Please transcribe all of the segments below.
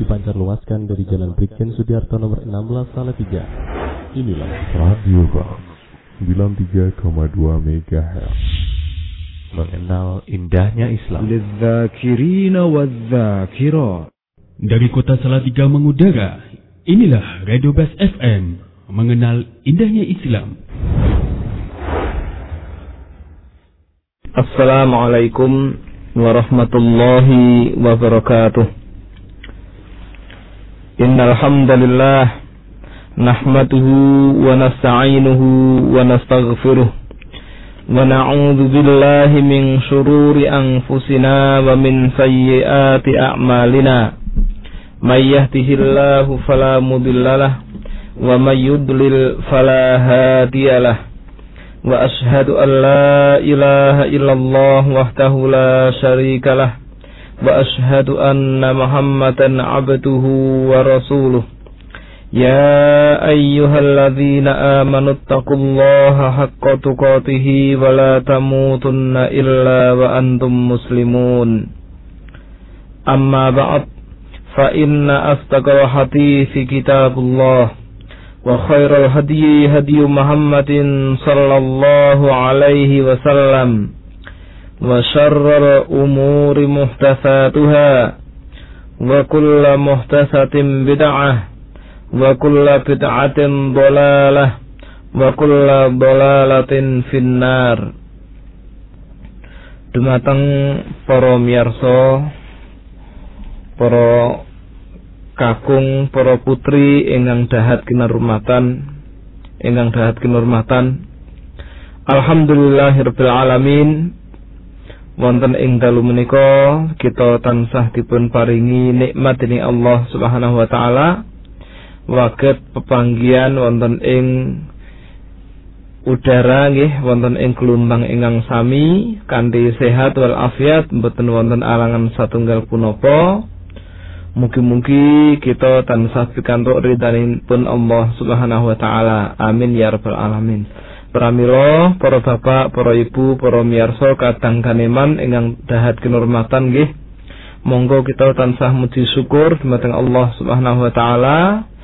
dipancarluaskan dari Jalan Brigjen Sudiarto nomor 16 Salatiga. Inilah Radio Bang 93,2 MHz. Mengenal indahnya Islam. Lidzakirina wadzakirat. Dari kota Salatiga mengudara, inilah Radio Bas FM, mengenal indahnya Islam. Assalamualaikum warahmatullahi wabarakatuh. Innal hamdalillah nahmaduhu wa nasta'inuhu wa nastaghfiruh wa na'udzu billahi min shururi anfusina wa min sayyiati a'malina. May yahdihillahu fala mudhillalah wa may yudlil fala hadiyalah. Wa ashhadu an la ilaha illallah wahdahu la syarikalah wa ashhadu anna Muhammadan abduhu wa rasuluh. Ya ayyuhalladzina amanu taqullaha haqqa tuqatih wa la tamutunna illa wa antum muslimun. Amma ba'd, fa inna asdaqal hadithi kitabullah wa khairal hadyi hadyu Muhammadin sallallahu alaihi wasallam wa syarral umuri muhdatsatuha wa kullu muhdatsatin bid'ah wa kullu bid'atin dhalalah wa kullu dhalalatin finnar. Dumateng para miyarsa, para kakung, para putri ingkang dahat kinurmatan, alhamdulillahirabbil alamin. Wonten ing dalu menika kita tansah dipun paringi nikmat dening Allah Subhanahu wa taala waget pepanggihan wonten ing udara nggih, wonten ing gelombang ingkang sami kanthi sehat wal afiat, mboten wonten alangan satunggal punapa. Mugi-mugi kita tansah pikantuk ridhanipun Allah Subhanahu wa taala. Amin ya rabbal alamin. Pramila para bapak, para ibu, para miyarsa kadang kaneman ingkang dahat kinurmatan nggih. Monggo kita tansah muji syukur dumateng Allah Subhanahu wa taala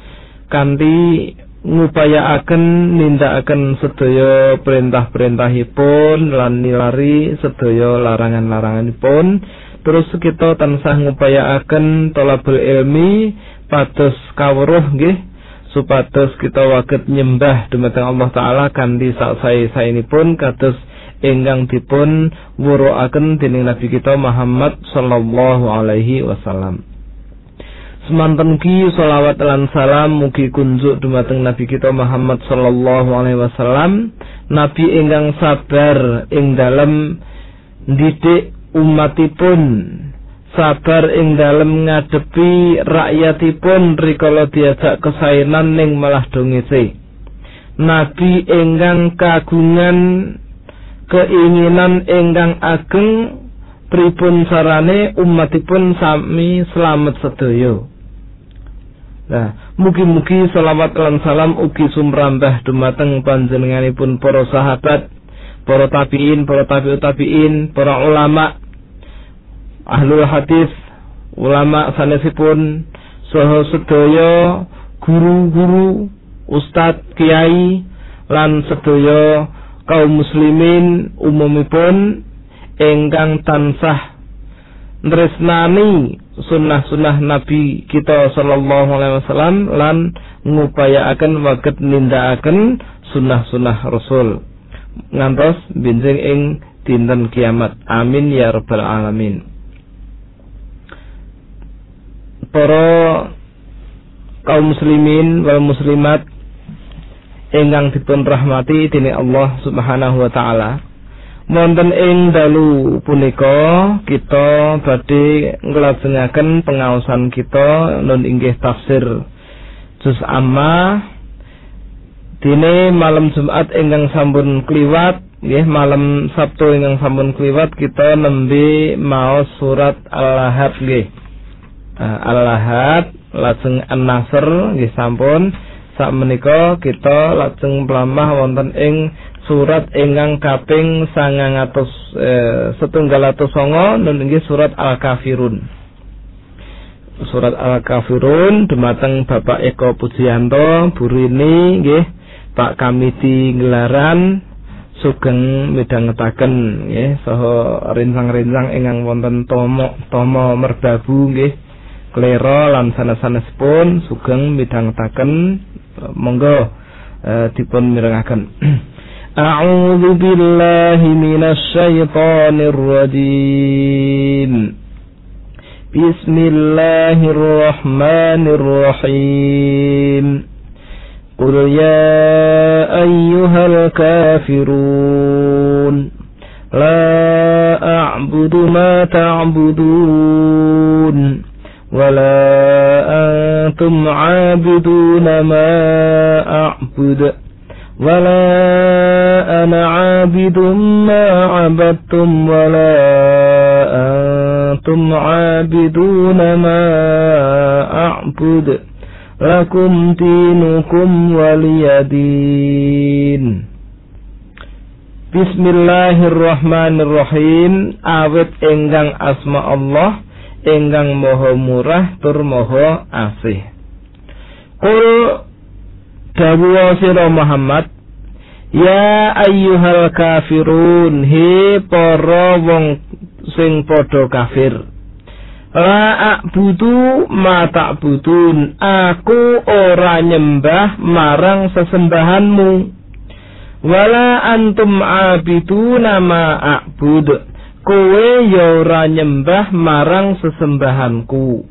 kanthi ngupayaaken nindakaken sedaya perintah-perintahipun lan nilari sedaya larangan-laranganipun. Terus kita tansah ngupayaaken thalabul ilmi pados kawruh nggih, supados kita waget nyembah dumateng Allah taala kanthi sae-saenipun kados ingkang dipun wuruaken dening Nabi kita Muhammad sallallahu alaihi wasallam. Semanten ki sholawat lan salam mugi kunjuk dumateng Nabi kita Muhammad sallallahu alaihi wasallam, nabi ingkang sabar ing dalem ndidik umatipun, sabar ing dalem ngadepi rakyatipun rikala diajak kesaenan ning malah dongese. Nabi ingkang kagungan keinginan ingkang ageng pripun sarane umatipun sami slamet sedaya. Nah, mugi-mugi selawat lan salam ugi sumrambah dumateng panjenenganipun para sahabat, para tabi'in, para tabi'ut tabi'in, para ulama, ahlul hadis, ulama sanesipun, saha sedaya guru-guru, ustadz, kiai, lan sedaya kaum muslimin umumipun ingkang tansah nresnani sunnah-sunnah Nabi kita sallallahu alaihi wasallam lan ngupayaaken waget nindakaken sunnah-sunnah Rasul ngantos benjing ing dinten kiamat. Amin ya rabbal alamin. Para kaum muslimin wal muslimat ingkang dipun rahmati dening Allah Subhanahu wa taala, wonten ing dalu punika kita badhe nglajengaken pengaosan kita nun inggih tafsir juz amma. Dene malam Jumat ingkang sampun kliwat nggih, malam Sabtu ingkang sampun kliwat kita nembe maos surat Al-Lahad nggih. Al-Lahad lajeng An-Nasr nggih sampun. Sakmenika kita lajeng mlampah wonten ing surat ingkang kaping 979 nun inggih surat Al-Kafirun. surat Al-Kafirun dumateng Bapak Eko Pujiyanto Burini nggih Pak Kamiti Ngelaran sugeng midhangetaken nggih saha rinsang-rinsang ingkang wonten tomo merbabu nggih klera lan sanes-sanesipun sugeng midhangetaken monggo dipun mirengaken. A'udzu billahi minasy syaithanir rajim. Bismillahirrahmanirrahim. Qul ya ayyuhal kafirun la a'budu ma ta'budun wa la antum 'abiduna ma a'budu wa la ana 'abidun ma 'abadtum wa la antum 'abiduna ma a'budu lakum dinukum waliyadin. Bismillahirrahmanirrahim. Awit ingkang asma Allah ingkang maha murah tur maha asih. Qul dawuh sira Muhammad, ya ayyuhal kafirun, he para wong sing padha kafir. La a'budu ma ta'budun, aku ora nyembah marang sesembahanmu. Wala antum abiduna ma a'bud, kowe ya ora nyembah marang sesembahanku.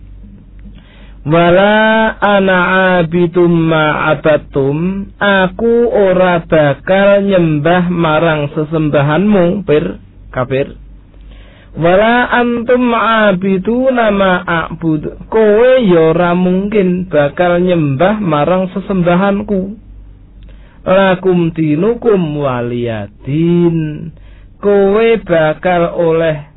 Wala ana abidum ma abatum, aku ora bakal nyembah marang sesembahanmu kafir. Wala antum abiduna ma a'bud, kowe ya ora mungkin bakal nyembah marang sesembahanku. Lakum dinukum waliyadin, kowe bakal oleh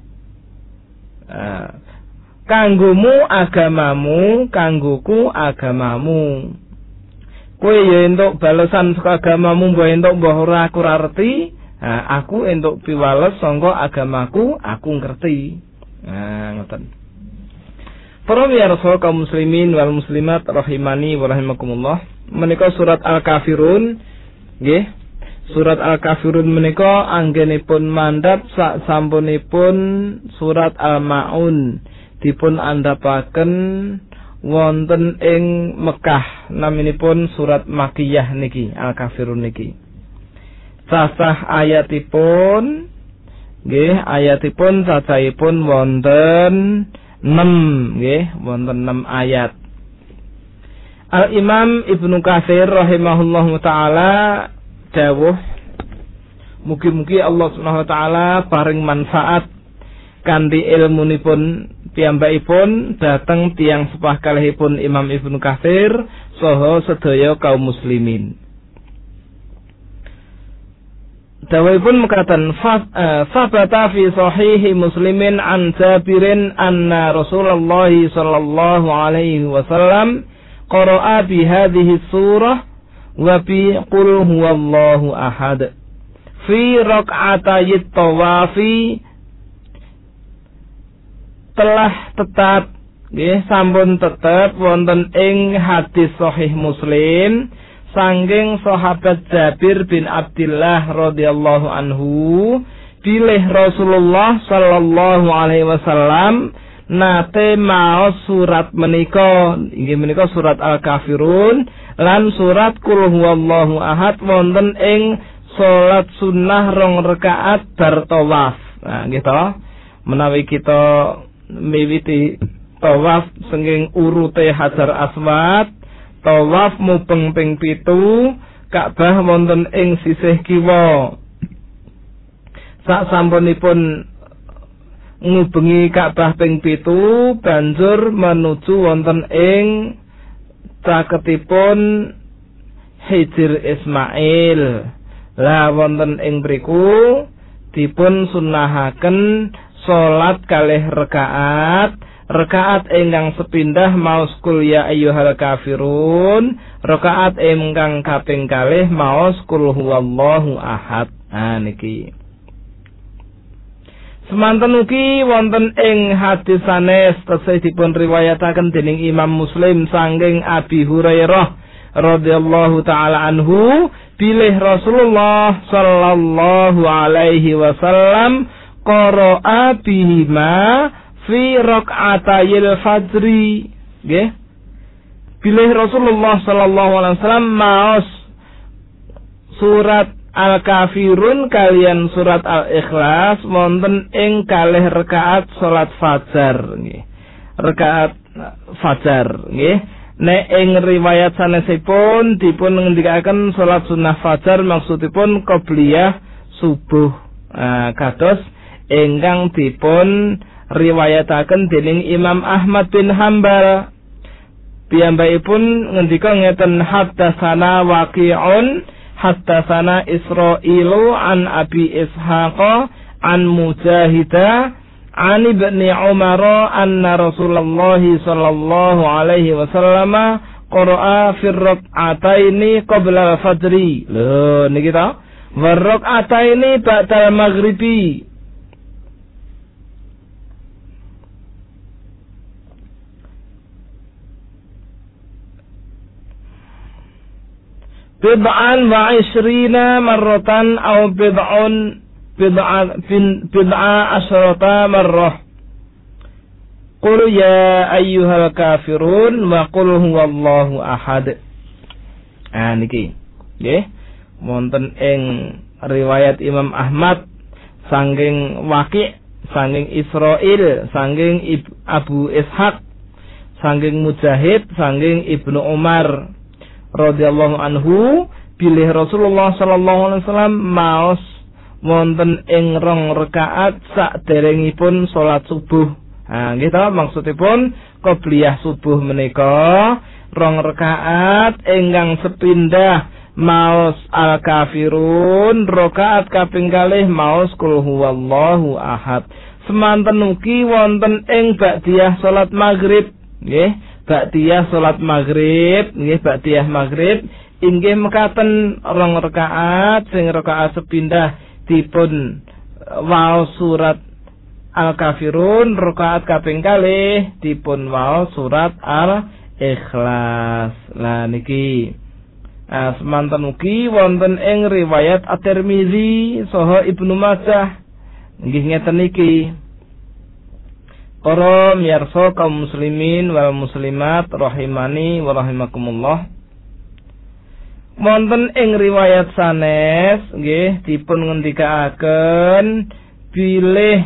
kanggomu agamamu, kanggoku agamamu. Kowe ya entuk balesan saka agamamu, mbok entuk mbok ora aku ora ngerti. Aku entuk piwales sangka agamaku, aku ngerti. Ngoten. Para miyarsa kaum muslimin wal muslimat rahimani wa rahimakumullah. Menika surat Al-Kafirun nggih. Surat Al-Kafirun menika anggenipun mandhap sak sampunipun surat Al-Maun dipun andhapaken wonten ing Mekah. Naminipun surat Makkiyah niki, Al-Kafirun niki. Sasah ayatipun nggih, ayatipun cacahipun wonten 6 nggih, wonten 6 ayat. Al-Imam Ibnu Katsir rahimahullahu taala dawuh, mugi-mugi Allah Subhanahu wa taala paring manfaat kanthi ilmunipun piyambakipun dhateng tiyang sepah kalihipun Imam Ibnu Katsir saha sedaya kaum muslimin. Dawuhipun mekaten, sabata fi sahihi Muslimin an Jabirin anna Rasulullah sallallahu alaihi wasallam qara'a bi hadhihi surah wa bi qul huwallahu ahad fi rak'atayit tawafi. Telah tetap nggih sampun tetep wonten ing hadis sahih Muslim sangking sahabat Jabir bin Abdullah radhiyallahu anhu, bilih Rasulullah sallallahu alaihi wasallam nate maos surat menika, inggih menika surat Al-Kafirun lan surat Qul huwallahu ahad wonten ing salat sunnah 2 rakaat bar tawaf. Nah nggih to, menawi kita miwiti tawaf senging urute Hajar Aswad, tawaf mubeng ping 7, Ka'bah wonten ing sisih kiwa. Sak sampunipun ngubengi Ka'bah ping 7, banjur menuju wonten ing caketipun Hijr Ismail. Lah wonten ing mriku dipun sunnahaken salat kalih rakaat. Rakaat ingkang sepindah maos Qul ya ayyuhal kafirun, rakaat ingkang kaping kalih maos Qul huwallahu ahad. Niki. Semanten ugi wonten ing hadis sanes tasih dipun riwayataken dening Imam Muslim saking Abi Hurairah radhiyallahu taala anhu bilih Rasulullah sallallahu alaihi wasallam qara'a bihima fi rakaatayil fajri. Nggih. Bilih Rasulullah sallallahu alaihi wasallam maos surat Al-Kafirun kalian surat Al-Ikhlas wonten ing kalih rakaat salat fajar nggih. Rakaat fajar nggih. Nek ing riwayat sanesipun dipun ngendikaken salat sunah fajar maksudipun qobliyah subuh. Kados ingkang dipun riwayataken dening Imam Ahmad bin Hambal. Piyambakipun ngendika ngeten haddatsana Waqi'un haddatsana Israilu an Abi Ishaq an Mujahida an Ibni Umar anna Rasulullah sallallahu alaihi wasallam qara'a fi rak'ataini qabla al-fajri. Lho niki ta wa rak'ataini ba'da al-maghribi. Bid'an wa 20 marratan aw bid'a asyrata marrah. Qul ya ayyuhal kafirun wa qul huwallahu ahad. Niki nggih wonten ing riwayat Imam Ahmad saking Waqi', saking Israil, saking Abu Ishaq, saking Mujahid, saking Ibnu Umar radhiyallahu anhu bilih Rasulullah sallallahu alaihi wasallam maos wonten ing rong rakaat saderengipun salat subuh. Nggih ta maksudipun qobliyah subuh menika rong rakaat ingkang sepindah maos Al-Kafirun, rakaat kaping kalih maos qul huwallahu ahad. Semanten ugi wonten ing ba'diyah salat maghrib nggih. Ba'diyah salat maghrib nggih ba'diyah maghrib inggih mekaten rong rakaat sing rakaat sepindah dipun waos surat Al-Kafirun, rakaat kaping kalih dipun waos surat Al-Ikhlas. Lah niki semanten ugi wonten ing riwayat At-Tirmizi saha Ibnu Majah nggih ngeten niki. Para miyarsa kaum muslimin wal muslimat rahimani wa rahimakumullah. Wonten ing riwayat sanes nggih dipun ngendikaaken bilih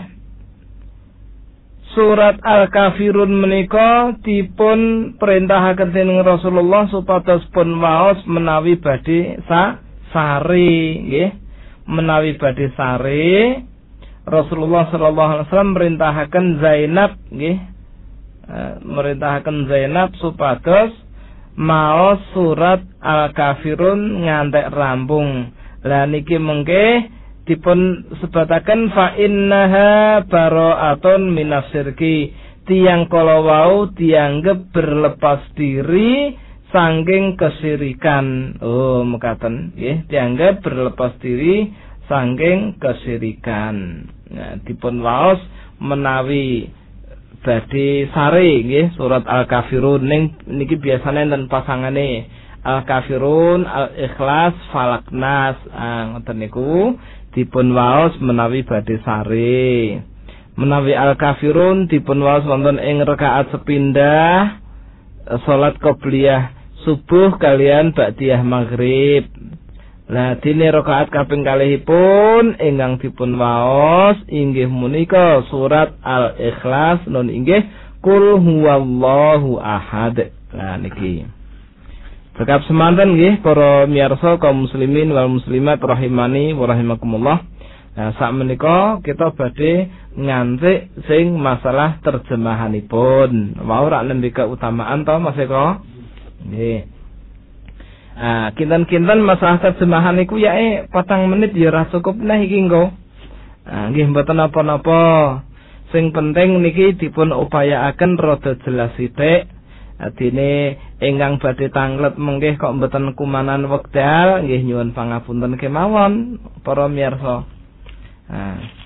surat Al-Kafirun menika dipun perintahaken dening Rasulullah supados pun waos menawi badhe sare nggih. Menawi badhe sare Rasulullah sallallahu alaihi wasallam merintahaken Zainab nggih. Merintahaken Zainab supados maos surat Al-Kafirun ngantek rampung. Lah niki mengke dipun sebataken fa innaha bara'atun minasyirki. Tiyang kala wau dianggep berlepas diri saking kesyirikan. Oh mekaten nggih, dianggap berlepas diri saking kesyirikan. Nah, dipun waos menawi badhe sare nggih surat Al-Kafirun ning niki biasane enten pasangane Al-Kafirun, Al-Ikhlas, Falaq, Nas. Ngoten niku dipun waos menawi badhe sare. Menawi Al-Kafirun dipun waos wonten ing rakaat sepindah salat qobliyah subuh kalian ba'diyah maghrib. Lah dene rakaat kaping kalihipun ingkang dipun waos inggih menika surat Al-Ikhlas nun inggih qul huwallahu ahad. Lah niki. Cekap semanten nggih para miyarsa kaum muslimin wal muslimat rahimani wa rahimakumullah. Nah sak menika kita badhe ngantik sing masalah terjemahanipun. Wau rak nembe keutamaan to Mas Eko? Nggih. Kinten-kinten masalah terjemahan iku yae 4 menit ya ora cukup nah iki engko. Nggih mboten napa-napa. Sing penting niki dipun upayaaken rada jelas sithik. Adine ingkang badhe tanglet mengke kok mboten kumanan wekdal nggih nyuwun pangapunten kemawon para miyarsa.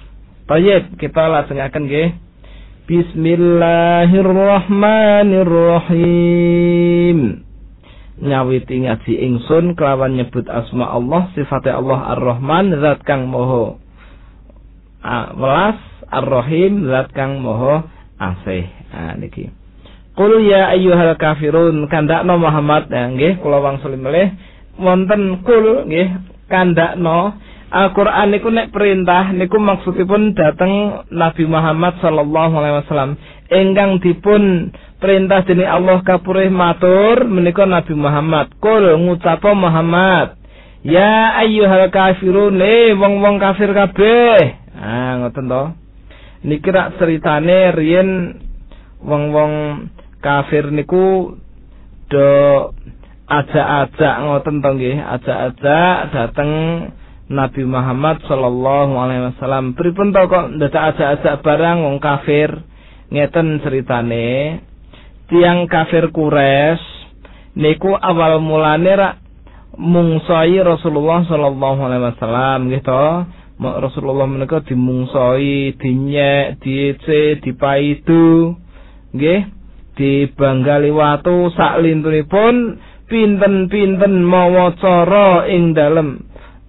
Thayyib, kita lajengaken nggih. Bismillahirrahmanirrahim. Nyawiti ngaji ingsun kelawan nyebut asma Allah, sifate Allah Ar-Rahman, zat kang maha welas, Ar-Rahim, zat kang maha asih. Niki. Qul ya ayyuhal kafirun, kandakno Muhammad, nggih kula wangsuli melih wonten kul nggih kandakno. Al-Qur'an niku nek perintah niku maksudipun dhateng Nabi Muhammad sallallahu alaihi wasallam ingkang dipun perintah dening Allah kapurih matur menika Nabi Muhammad. Qul ngucapa Muhammad, ya ayyuhal kafirun, wong-wong kafir kabeh. Ngoten to. Niki rak ceritane riyen wong-wong kafir niku do ajak-ajak ngoten to nggih, ajak-ajak dateng Nabi Muhammad sallallahu alaihi wasallam. Pripun to kok ndadak ajak-ajak barang wong kafir? Ngeten ceritane. Tiang kafir Quraisy niku awal mulane rak mungsoi Rasulullah sallallahu alaihi wasallam nggih to. Rasulullah menika dimungsoi, dinyek, diece, dipaidu, nggih, dibanggali watu sak lintunipun pinten-pinten mawa cara ing dalem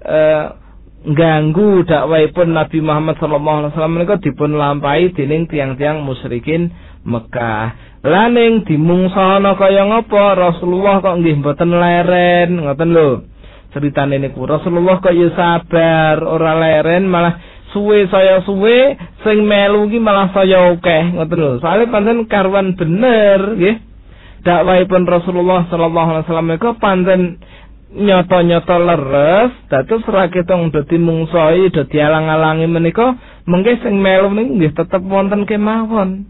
ganggu dakwahipun Nabi Muhammad sallallahu alaihi wasallam menika dipun lampahi dening tiang-tiang musyrikin Mekah. Laning dimungsana kaya ngapa Rasulullah kok nggih mboten leren, ngoten lho. Ceritane niku Rasulullah kok ya sabar, ora leren, malah suwe saya suwe sing melu iki malah saya akeh, ngoten lho. Soale pancen karuan bener nggih. Dakwahipun Rasulullah sallallahu alaihi wasallam menika pancen nyata-nyata leres, dados ora ketong dadi mungsoi, dadi alang-alangi menika, mengke sing melu niku nggih tetep wonten kemawon.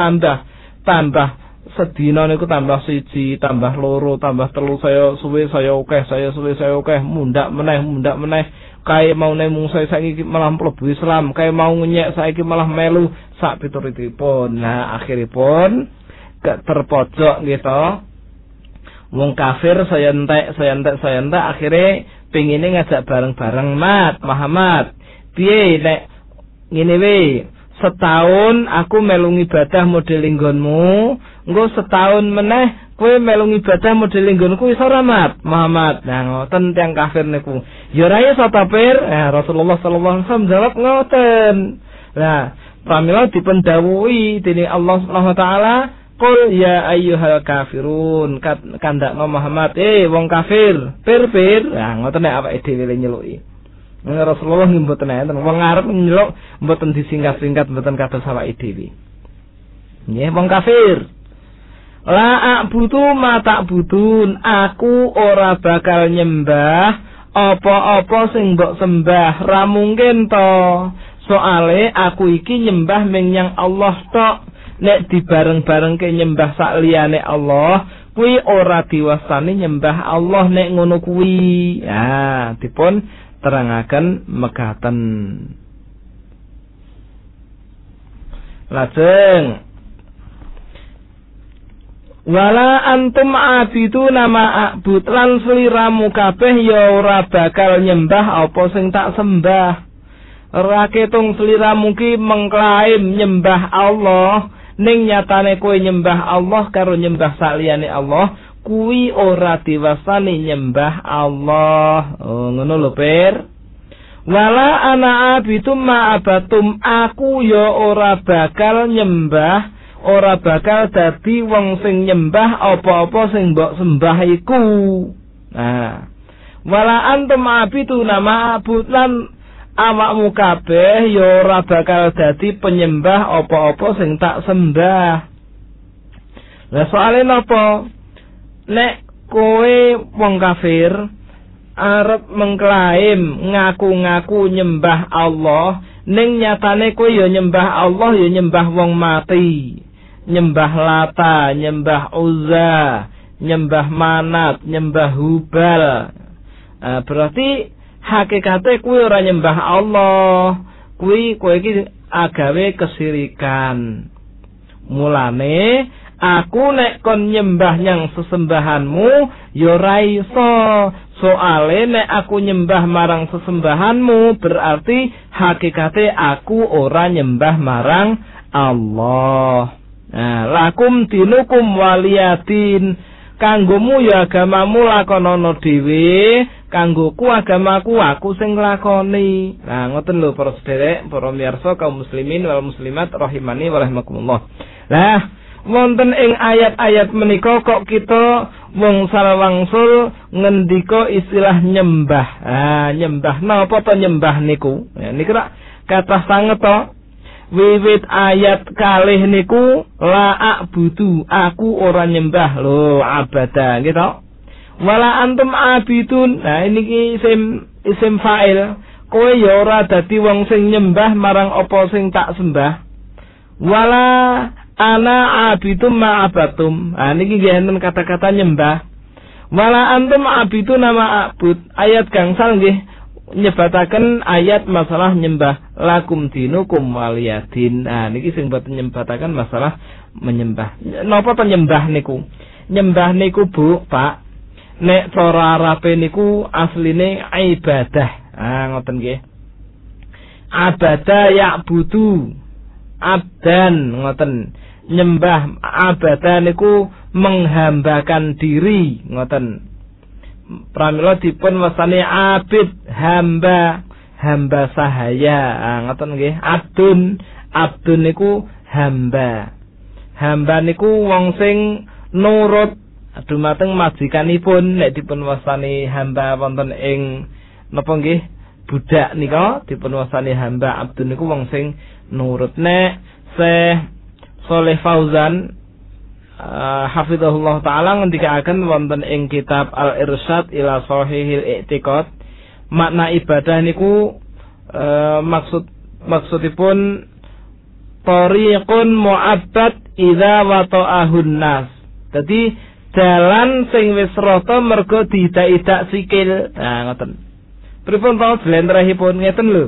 Tambah sedina niku tambah 1, tambah 2, tambah 3, saya suwe saya akeh, saya suwe saya akeh, mundak meneh. Kae mau mungsoi saiki malah mlebu Islam, kae mau nyek saiki malah melu sak pituritipun. Nah, akhiripun terpojok nggih to. Wong kafir saya entek akhirnya pengine ngajak bareng-bareng Muhammad. Piye nek ngene we, setahun aku melu ibadah model nggonmu, engko setahun meneh kowe melu ibadah model nggonku iso ora Muhammad. Nah ngoten tiyang kafir niku. Ya ora iso tapir. Rasulullah sallallahu alaihi wasallam jawab ngoten. Nah, pramila dipun dawuhi dening Allah Subhanahu wa taala, Qul ya ayyuhal kafirun, kandakno Muhammad, wong kafir, pir. Nah, ngoten nek awake dhewe nyeluki. Rasulullah mboten enten, wong arep nyeluk mboten disingkat-singkat, mboten kados awake dhewe. Nggih, wong kafir. La a'budu ma ta'budun, aku ora bakal nyembah apa-apa sing mbok sembah, ra mungkin to. Soale aku iki nyembah menyang Allah tok. Nek dibareng-bareng ke nyembah sak liyane Allah, kuwi ora diwastani nyembah Allah nek ngono kuwi. Ya, dipun terangaken mekaten. Lajeng wala antum abidu nama abud, lan sliramu kabeh ya ora bakal nyembah apa sing tak sembah. Ora ketung sliramu ki mengklaim nyembah Allah, ning nyatane kowe nyembah Allah karo nyembah saliyane Allah, kuwi ora diwastani nyembah Allah. Ngono lho, Pir. Wala ana abitum ma abatum, aku ya ora bakal nyembah, ora bakal dadi wong sing nyembah apa-apa sing mbok sembah iku. Nah, wala antum abitu nama abud, lan awakmu kabeh ya ora bakal dadi penyembah apa-apa sing tak sembah. Lah soalé napa? Nek kowe wong kafir arep mengklaim ngaku-ngaku nyembah Allah, ning nyatane kowe ya nyembah Allah, ya nyembah wong mati, nyembah Lata, nyembah Uzza, nyembah Manat, nyembah Hubal. Berarti hakikate kuwi ora nyembah Allah, kuwi kowe iki agawe kesirikan. Mulane aku nek kon nyembah nyang sesembahanmu ya ora iso, Soale nek aku nyembah marang sesembahanmu berarti hakikate aku ora nyembah marang Allah. Nah, lakum dinukum waliyadin. Kanggomu ya agamamu lakonono dhewe, kanggoku agamaku aku sing nglakoni. Nah, ngoten lho para sederek, para miyarsa kaum muslimin wal muslimat rahimani wa rahimakumullah. Lah, wonten ing ayat-ayat menika kok kita wong salawangsul ngendika istilah nyembah. Nyembah napa to nyembah niku? Ya niku rak kathah sanget to. Wiwit ayat kalih niku la a'budu, aku ora nyembah lho, abada gitu. Wala antum abidun. Nah ini isim fa'il. Kowe ya ora dadi wong sing nyembah marang apa sing tak sembah. Wala ana abidum ma'abatum. Nah niki nggih enten kata-kata nyembah. Wala antum abidun nama abud. Ayat gangsal nggih nyebataken ayat masalah nyembah lakum dinukum waliyadin. Nah niki sing boten nyebataken masalah menyembah. Napa to nyembah niku? Nyembah niku Bu, Pak. Nek cara Arabe niku asline ibadah. Ngoten nggih. Abada ya'budu. Abdan ngoten. Nyembah abada niku menghambakan diri ngoten. Pramila dipun wasani abid, hamba sahaya. Ngoten nggih. Abdun niku hamba. Hamba niku wong sing nurut dumateng majikanipun. Nek dipun wasani hamba wonten ing napa nggih budak nika dipun wasani hamba. Abdun niku wong sing nurut. Nek Syekh Shalih Fauzan hafizahullah ta'ala ngendikaaken wonten ing kitab Al-Irsyad ila Shahihil I'tiqad, makna ibadah niku maksudipun tariqun mu'abbad idza wata'ahun nas. Dadi dalan sing wis rata mergo diidak-idak sikil. Nah ngoten. Pripun to jlentrehipun ngeten lho.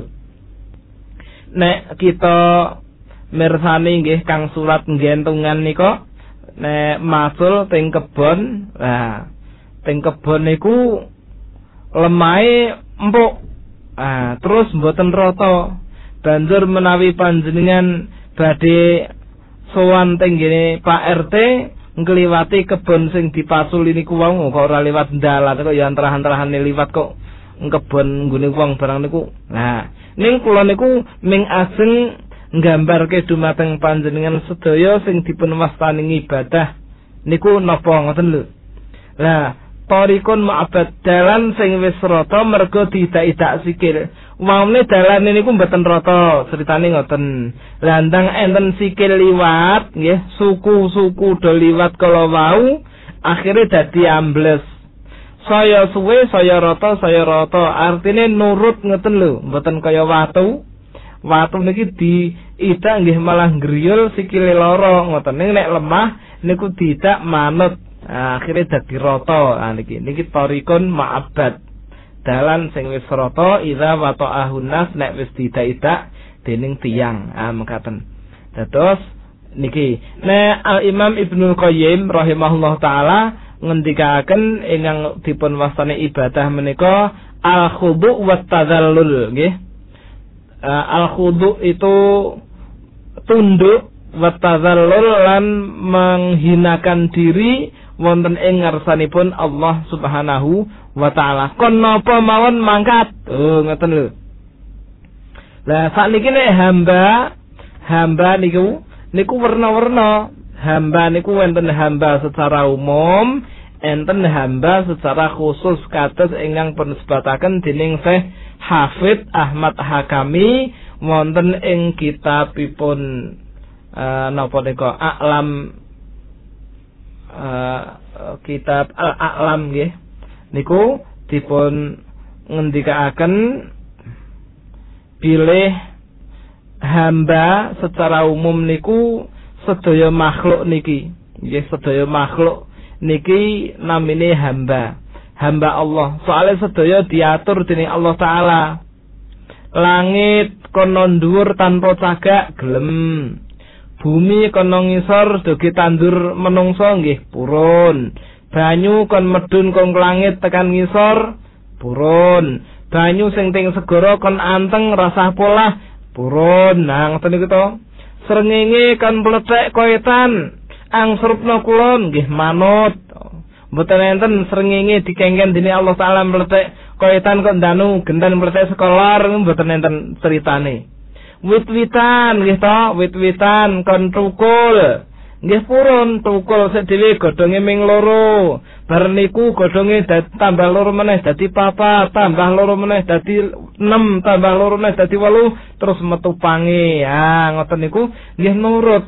Nek kita mirsani nggih kang surat nggentungan nika nek masul teng kebon, nah teng kebon niku lemahe empuk. Terus mboten rata. Banjur menawi panjenengan badhe sowan teng ngene Pak RT ngliwati kebon sing dipasul niku wau kok ora liwat dalan kok ya antarahan-antarane liwat kok kebon nggone wong barang niku. Nah, ning kula niku ming aseng nggambarke dumateng panjenengan sedaya sing dipun wastani ibadah niku napa ngoten lho. Lah, tarikun ma'abad dalan sing wis rata mergo diidak-idak sikil. Wamne dalane niku mboten rata, critane ngoten. Landang enten sikil liwat nggih, suku-suku do liwat kala wau, akhire dadi ambles. Saya suwe, saya rata, artine nurut ngoten lho, mboten kaya watu. Watu niki diidak nggih malah griyul sikile lara ngoten. Nek lemah niku diidak manut. Akhire dadi rata. Niki tarikun ma'abad. Dalan sing wis rata idza wata'ahun nas nek wis diidak-idak dening tiyang. Mekaten. Dados niki nek Al-Imam Ibnu Qayyim rahimahullah taala ngendikaken ingkang dipun wastani ibadah menika al-khudu' wat tadzallul nggih. Al-khudu' itu tunduk, wa tadzallul lan menghinakan diri wonten ing ngarsanipun Allah Subhanahu wa taala. Kon napa mawon mangkat. Ngoten lho. Lah sakniki nek hamba niku werna-werna. Hamba niku wonten hamba secara umum, enten hamba secara khusus kados ingkang penisbataken dening Syekh Hafid Ahmad Hakami wonten ing kitabipun napa nika kitab Al-A'lam nggih. Niku dipun ngendikaaken bilih hamba secara umum niku sedaya makhluk niki. Nggih sedaya makhluk niki namine hamba Allah. Soalnya sedaya diatur dening Allah taala. Langit kono dhuwur tanpa cagak gelem. Bumi kono ngisor dugi tandur menungso nggih purun. Banyu kon medun kong langit tekan ngisor purun. Banyu sing teng segara kon anteng rasah polah purun. Nah ngoten niku to. Srengenge kan mlethek koetan angsrupna kula nggih manut. Mboten enten srengenge dikengken dening Allah taala mlethek koetan kok danu gendan mlethek sekolar mboten enten ceritane. Wit-witan nggih to, wit-witan kon tukul. Nggih purun tukul sik dhewe godhonge ming loro. Bar niku godhonge tambah loro meneh dadi 4, tambah loro meneh dadi 6, tambah loro meneh dadi 8, terus metu pange. Ngoten niku nggih nurut.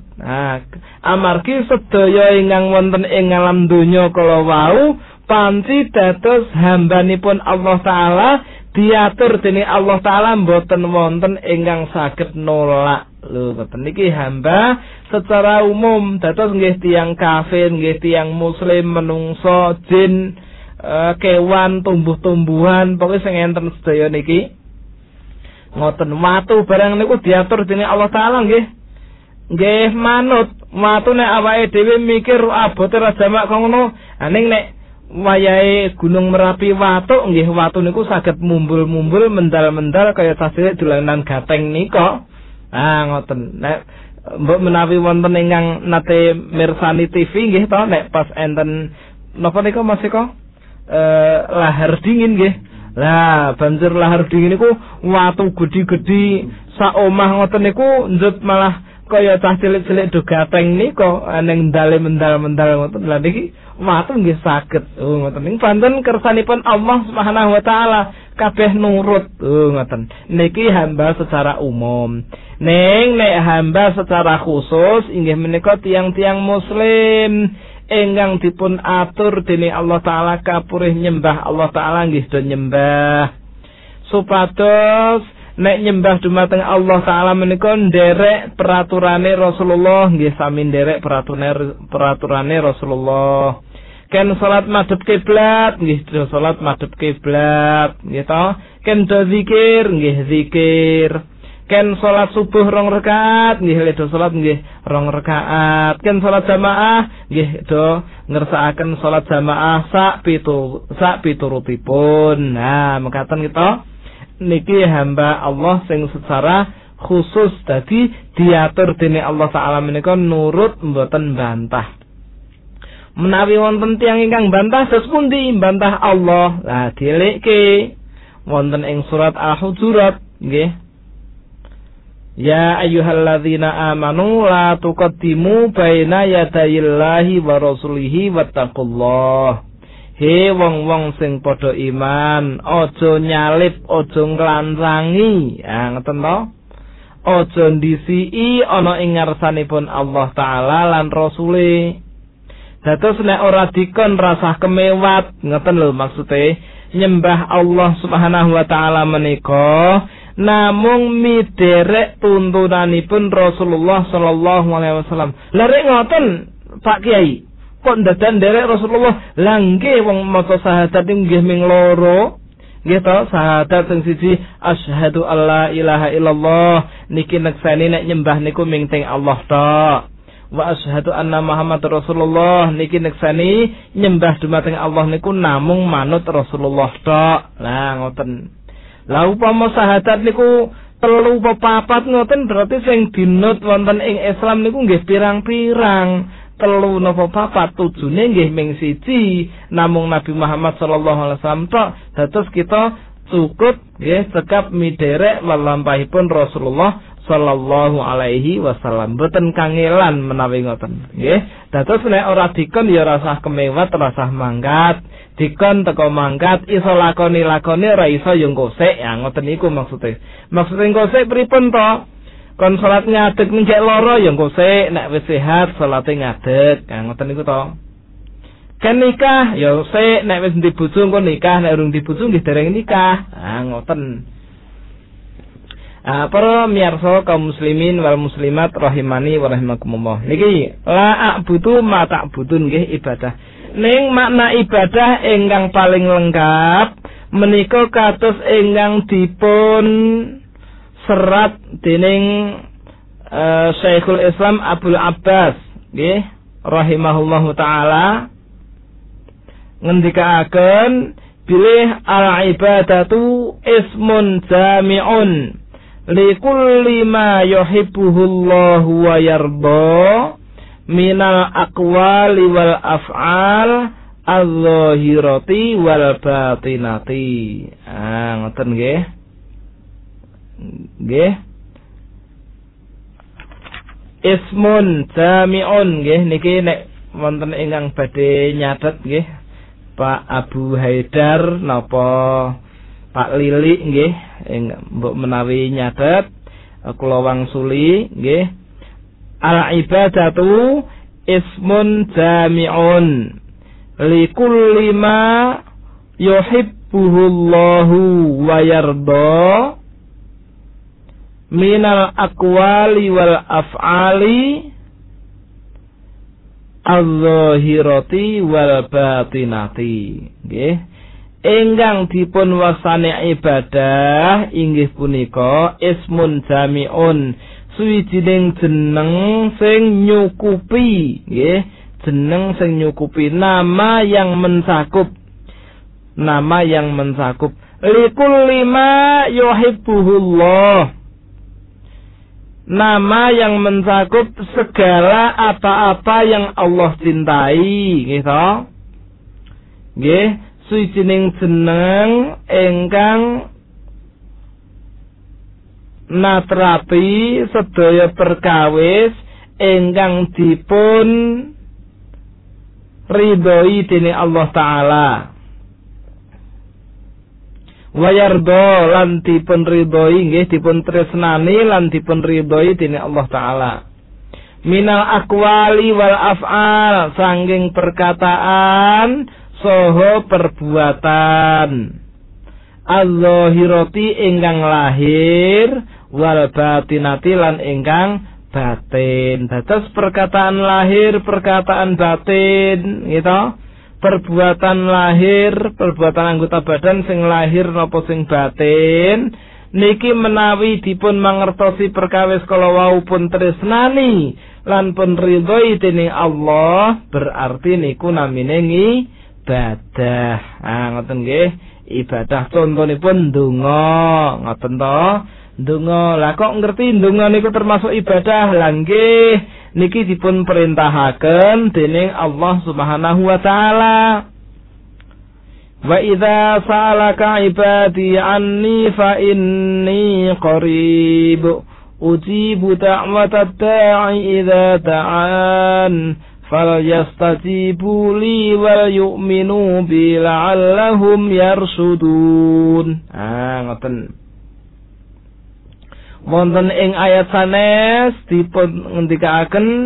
Amargi sedaya ingkang wonten ing alam donya kala wau panci dados hambanipun Allah taala diatur dening Allah taala mboten wonten ingkang saged nolak. Lho ngoten niki hamba secara umum dados nggih tiyang kafir, nggih tiyang muslim, menungso, jin, kewan, tumbuh-tumbuhan, pokoke sing enten sedaya niki ngoten. Watu barang niku diatur dening Allah taala nggih. Nggih manut. Watu nek awake dhewe mikir abote ra jamak ngono, ning nek wayahe Gunung Merapi watu nggih watu niku saged mumbul-mumbul mendal-mendal kaya sasilik dolanan gateng nika. Ngoten. Nek mbok menawi wonten ingkang nate mirsani TV nggih to nek pas enten napa nika Mas Eko lahar dingin nggih. Lah banjur lahar dingin niku watu gedhi-gedhi sak omah ngoten niku njut malah kaya cah cilik-cilik do gateng nika ning ndale mendal-mendal ngoten. Lah niki watu nggih saged. Ngoten ning panten kersanipun Allah Subhanahu wa taala kabeh nurut. Ngoten. Niki hamba secara umum. Ning nek hamba secara khusus inggih menika tiang-tiang muslim ingkang dipun atur dening Allah taala kapurih nyembah Allah taala nggih do nyembah. Supados nek nyembah dumateng Allah taala menika nderek peraturane Rasulullah nggih sami nderek peraturane Rasulullah. Ken salat madhep kiblat nggih do salat madhep kiblat nggih to. Ken do zikir nggih zikir. Ken salat subuh 2 rakaat nggih do salat nggih 2 rakaat. Ken salat jamaah nggih do ngersakaken salat jamaah sak piturutipun. Nah mekaten kita niki hamba Allah sing secara khusus dadi diatur dening Allah taala menika nurut mboten bantah. Menawi wonten tiyang ingkang bantah sos pundi bantah Allah. Lah dilekke wonten ing surat Al-Hujurat nggih. Ya ayyuhalladzina amanu la tuqaddimu baina yadayillahi wa rasulihi wattaqullah. He wong-wong sing padha iman, aja nyalip, aja nglancangi. Ngoten to? Aja ndisiki ana ing ngarsanipun Allah taala lan rasule. Dados nek ora dikon rasah kemewat, ngoten lho maksude nyembah Allah Subhanahu wa taala menika namung miderek tuntunanipun Rasulullah sallallahu alaihi wasallam. Lah rek ngoten Pak Kiai, kok ndadan derek Rasulullah? Lah nggih wong maca syahadat nggih ming loro. Nggih to, syahadat sing siji asyhadu alla ilaha illallah niki nekseni nek nyembah niku ming teng Allah tok. Wa asyhadu anna Muhammadar Rasulullah niki nekseni nyembah dumateng Allah niku namung manut Rasulullah tok. Lah ngoten. Lah upama syahadat niku 3 apa 4 ngoten berarti sing dinut wonten ing Islam niku nggih pirang-pirang. 3 napa 4 tujune nggih ming siji namung Nabi Muhammad sallallahu alaihi wasallam tok. Dados kita cukup nggih cekap miderek lelampahipun Rasulullah sallallahu alaihi wasallam. Mboten kangelan menawi ngoten nggih. Dados nek ora dikon ya rasah kemewat, rasah mangkat. Dikon teko mangkat iso lakoni ora iso yo ngkosek. Ya ngoten niku maksude. Maksude ngkosek pripun to? Kon salat ngadeg mencek loro ya ngkosek, nek wis sehat salate ngadeg. Ya ngoten niku to. Kan nikah ya sik, nek wis ndi bojo engko nikah, nek urung di bojo nggih dereng nikah. Ngoten. Para miyarsa kaum muslimin wal muslimat rahimani wa rahimakumullah. Niki la a'budu ma ta'budun nggih ibadah. Ning makna ibadah ingkang paling lengkap menika kados ingkang dipun serat dening Syekhul Islam Abdul Abbas nggih rahimahullahu taala ngendikaaken Bilih al-ibadatu ismun jami'un likulli ma yuhibbuhullahu wa yarda minal aqwali wal af'al az-zahirati wal batinati. Ngoten nggih. Nggih. Ismun jami'un nggih niki nek wonten ingkang badhe nyatet nggih Pak Abu Haidar napa Pak Lili nggih mbok menawi nyatet kula wangsuli nggih. Al-ibadatu ismun jami'un likulli ma yuhibbuhullahu wa yarda minal aqwali wal af'ali az-zahirati wal batinati. Nggih. Ingkang dipun wasani ibadah inggih punika ismun jami'un, suwijining jeneng sing nyukupi, nggih. Jeneng sing nyukupi, nama yang mencakup. Nama yang mencakup likulli ma yuhibbuhullah. Nama yang mencakup segala apa-apa yang Allah cintai, gitu. Nggih, suwijining jeneng ingkang natrapi sedaya perkawis ingkang dipun ridhoi dening Allah Ta'ala. Wayardo lan dipun ridhoi nggih, dipun tresnani lan dipun ridhoi dening Allah Ta'ala. Minal aqwali wal af'al, sanging perkataan saha perbuatan. Az-zahirati ingkang lahir, wal batinati lan ingkang batin. Dados perkataan lahir, perkataan batin, gitu. Perbuatan lahir, perbuatan anggota badan sing lahir napa sing batin niki menawi dipun mangertosi perkawis kala wau pun tresnani lan pun ridhoi dening Allah, berarti niku namine ibadah. Ngoten nggih, ibadah contonipun ndonga, ngoten to. Ndonga, lah kok ngerti ndonga niku termasuk ibadah? Lah nggih, niki dipun perintahaken dening Allah Subhanahu wa taala. Wa idza sa'alaka ibadi anni fa inni qarib ujibu da'watad da'i idza da'an falyastajibu li wal yu'minu bi la'allahum yarsudun. Ngoten. Wonten ing ayat sanes dipun ngendikaken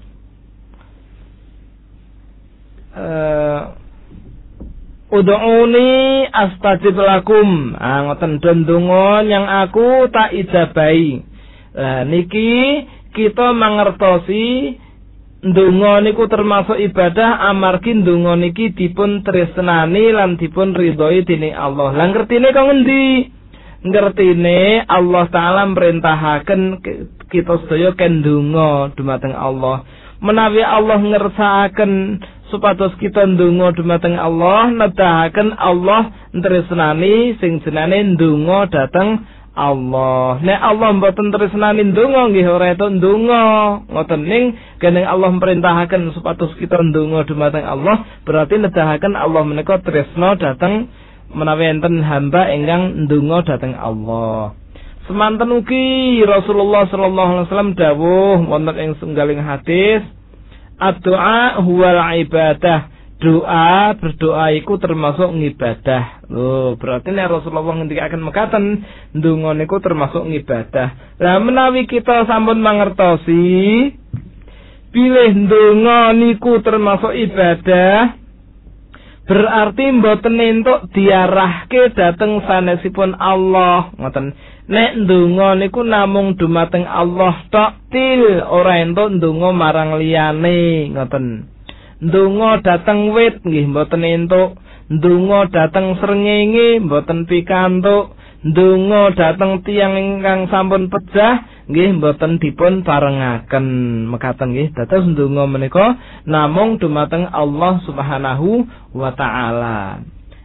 ud'uni astajib lakum. Ngoten, ndonga yang aku tak ijabahi. Niki kita mangertosi ndonga niku termasuk ibadah amargi ndonga niki dipun tresnani lan dipun ridhoi dening Allah. Lah ngertine kok ngendi? Ngertine Allah Ta'ala merintahaken kita sedaya ken ndonga dumateng Allah. Menawi Allah ngersakaken supados kita ndonga dumateng Allah, nedahaken Allah tresnani sing jenenge ndonga dhateng Allah. Nek Allah mboten tresnani ndonga nggih ora etuk ndonga. Ngoten ning gene Allah merintahaken supados kita ndonga dumateng Allah, berarti nedahaken Allah menika tresna dhateng menawi enten hamba ingkang ndonga dhateng Allah. Semanten ugi Rasulullah sallallahu alaihi wasallam dawuh wonten ing setunggaling hadis, ad-du'a huwal ibadah. Doa, berdoa iku termasuk ngibadah. Loh, berarti nek Rasulullah ngendikaken mekaten, ndonga niku termasuk ngibadah. Lah menawi kita sampun mangertosi bilih ndonga niku termasuk ibadah, berarti mboten entuk diarahke dhateng sanesipun Allah. Ngoten. Nek ndonga niku namung dumateng Allah tok til, ora entuk ndonga marang liyane. Ngoten. Ndonga dhateng wit nggih mboten entuk, ndonga dhateng srengenge mboten pikantuk, ndonga dhateng tiyang ingkang sampun pejah nggih mboten dipun parengaken. Mekaten nggih, dados ndonga menika namung dumateng Allah Subhanahu wa taala.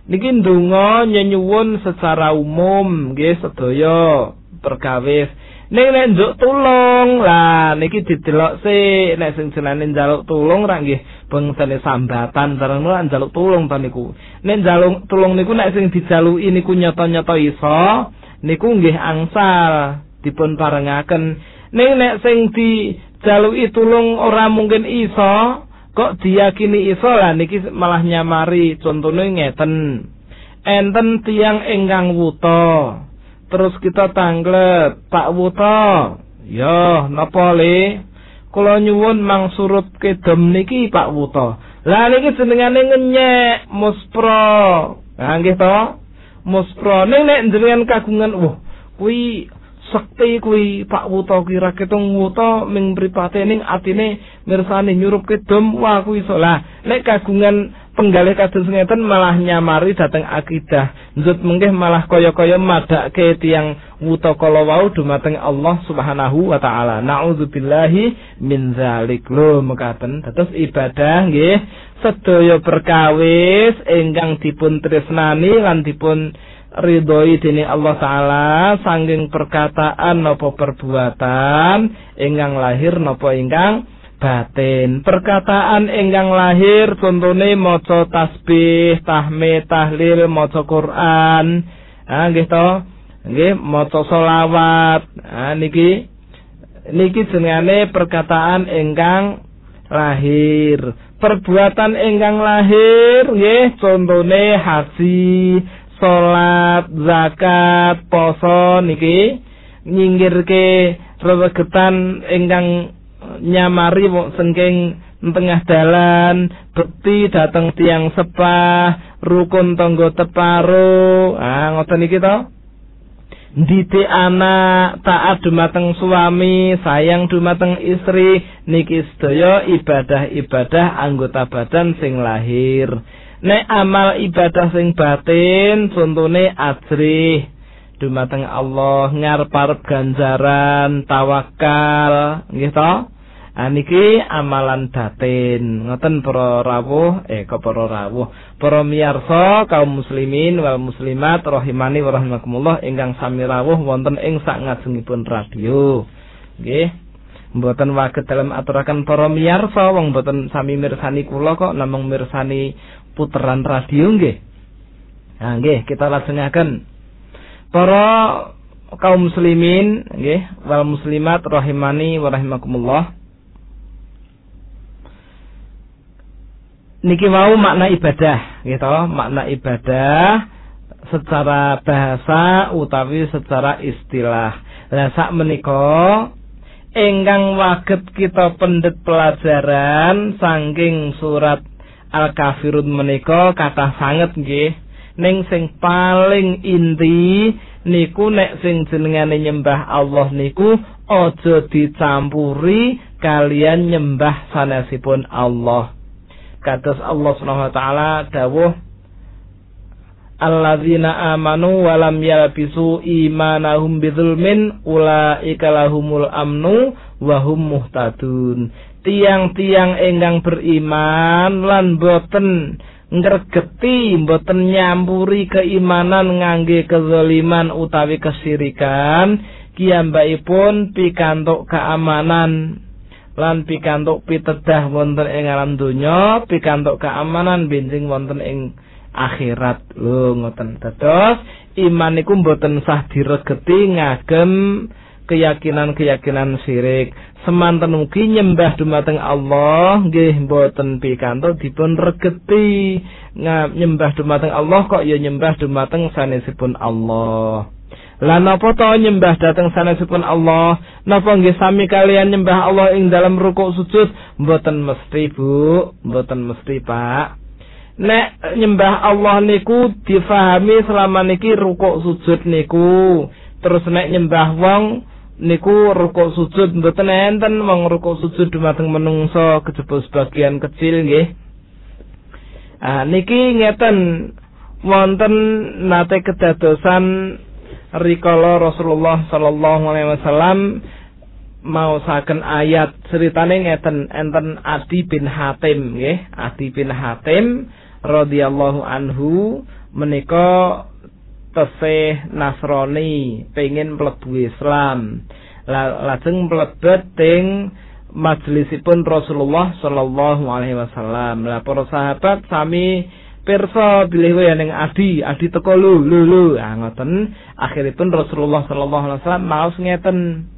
Niki ndonga nyuwun secara umum nggih sedaya perkawis. Nek njuk tulung lah niki didelok sik nek sing jenenge njaluk tulung ra nggih bangsane sambatan bareng ora njaluk tulung to niku. Nek njaluk tulung niku nek sing dijaluki niku nyata-nyata iso niku nggih angsal dipun parengaken. Nek sing dijaluki tulung ora mungkin iso kok diyakini iso lah niki malah nyamari. Contone ngeten. Enten tiyang ingkang wuta. Terus kita tanglet, Pak Wuto. Yo, napa le? Kula nyuwun mang surut kedem niki Pak Wuto. Lah niki jenengane ngenyek muspro. Lah nggih to? Muspro nek jenengan kagungan, kuwi sekti kuwi Pak Wuto kira ketung wuto ming mripate ning atine mirsani nyurup kedem, wah kuwi iso. Lah nek kagungan penggalih kados ngeten malah nyamari dhateng akidah. Njut menggih malah kaya-kaya madake tiyang wuta kala wau dumateng Allah Subhanahu wa taala. Nauzubillahi min zalik. Lho mekaten dados ibadah nggih sedaya perkawis ingkang dipun tresnani lan dipun ridhoi dening Allah taala saking perkataan napa perbuatan ingkang lahir napa ingkang batin. Perkataan ingkang lahir contone maca tasbih, tahmid, tahlil, maca Quran. Nggih to? Nggih, maca selawat. Niki jenenge perkataan ingkang lahir. Perbuatan ingkang lahir nggih contone haji, salat, zakat, poso niki nyinggirke rewegetan ingkang nyamari sengking tengah dalan, bekti dateng tiang sepah, rukun tangga teparo. Ngoten iki to. Didik anak, taat dumateng suami, sayang dumateng istri, niki sedaya ibadah-ibadah anggota badan sing lahir. Nek amal ibadah sing batin contone ajrih dumateng Allah, ngarep-arep ganjaran, tawakal, nggih to? Niki amalan batin. Ngoten para rawuh, para miyarsa kaum muslimin wal muslimat rahimani wa rahimakumullah ingkang sami rawuh wonten ing sak ngajengipun radio. Nggih. Mboten waget dalem aturaken para miyarsa wong mboten sami mirsani kula kok namung mirsani puteran radio nggih. Nggih, kita lajengaken. Para kaum muslimin nggih wal muslimat rahimani wa rahimakumullah. Niki wau makna ibadah gitu, makna ibadah secara bahasa utawi secara istilah. Lah sak menika ingkang waget kita pendet pelajaran saking surat Al-Kafirun menika kathah sanget nggih. Ning sing paling inti niku nek sing jenengane nyembah Allah niku aja dicampuri kalian nyembah sanesipun Allah. Kados Allah Subhanahu wa taala dawuh alladzina amanu wa lam yalbisu imanahum bidzulmin ulaika lahumul amnu wa hum muhtadun. Tiang-tiang ingkang beriman lan boten ngregeti, boten nyampuri keimanan ngangge kezaliman utawi kesyirikan, kiyambakipun pikantuk keamanan lan pikantuk pitedah wonten ing alam donya, pikantuk keamanan benjing wonten ing akhirat. Lho ngoten. Dados iman niku mboten sah diregeti ngagem keyakinan-keyakinan syirik. Semanten ugi nyembah dumateng Allah nggih mboten pikantuk dipun regeti. Nyembah dumateng Allah kok ya nyembah dumateng sanesipun Allah. Lah napa to nyembah dhateng sanesipun Allah? Napa nggih sami kalian nyembah Allah ing dalam rukuk sujud? Mboten mesti, Bu. Mboten mesti, Pak. Nek nyembah Allah niku difahami selama niki rukuk sujud niku. Terus nek nyembah wong niku rukuk sujud mboten enten, wong rukuk sujud dumateng menungso kejaba sebagian kecil nggih. Niki ngeten wonten nate kedadosan rikala Rasulullah sallallahu alaihi wasallam maosaken ayat ceritane ngeten, enten Adi bin Hatim nggih. Adi bin Hatim radhiyallahu anhu menika tesih Nasrani pengin mlebu Islam. Lajeng mlebet teng majelisipun Rasulullah sallallahu alaihi wasallam. Lah para sahabat sami pirsa bilih wae ning adi teko lho. Ngoten akhiripun Rasulullah sallallahu alaihi wasallam maos ngeten.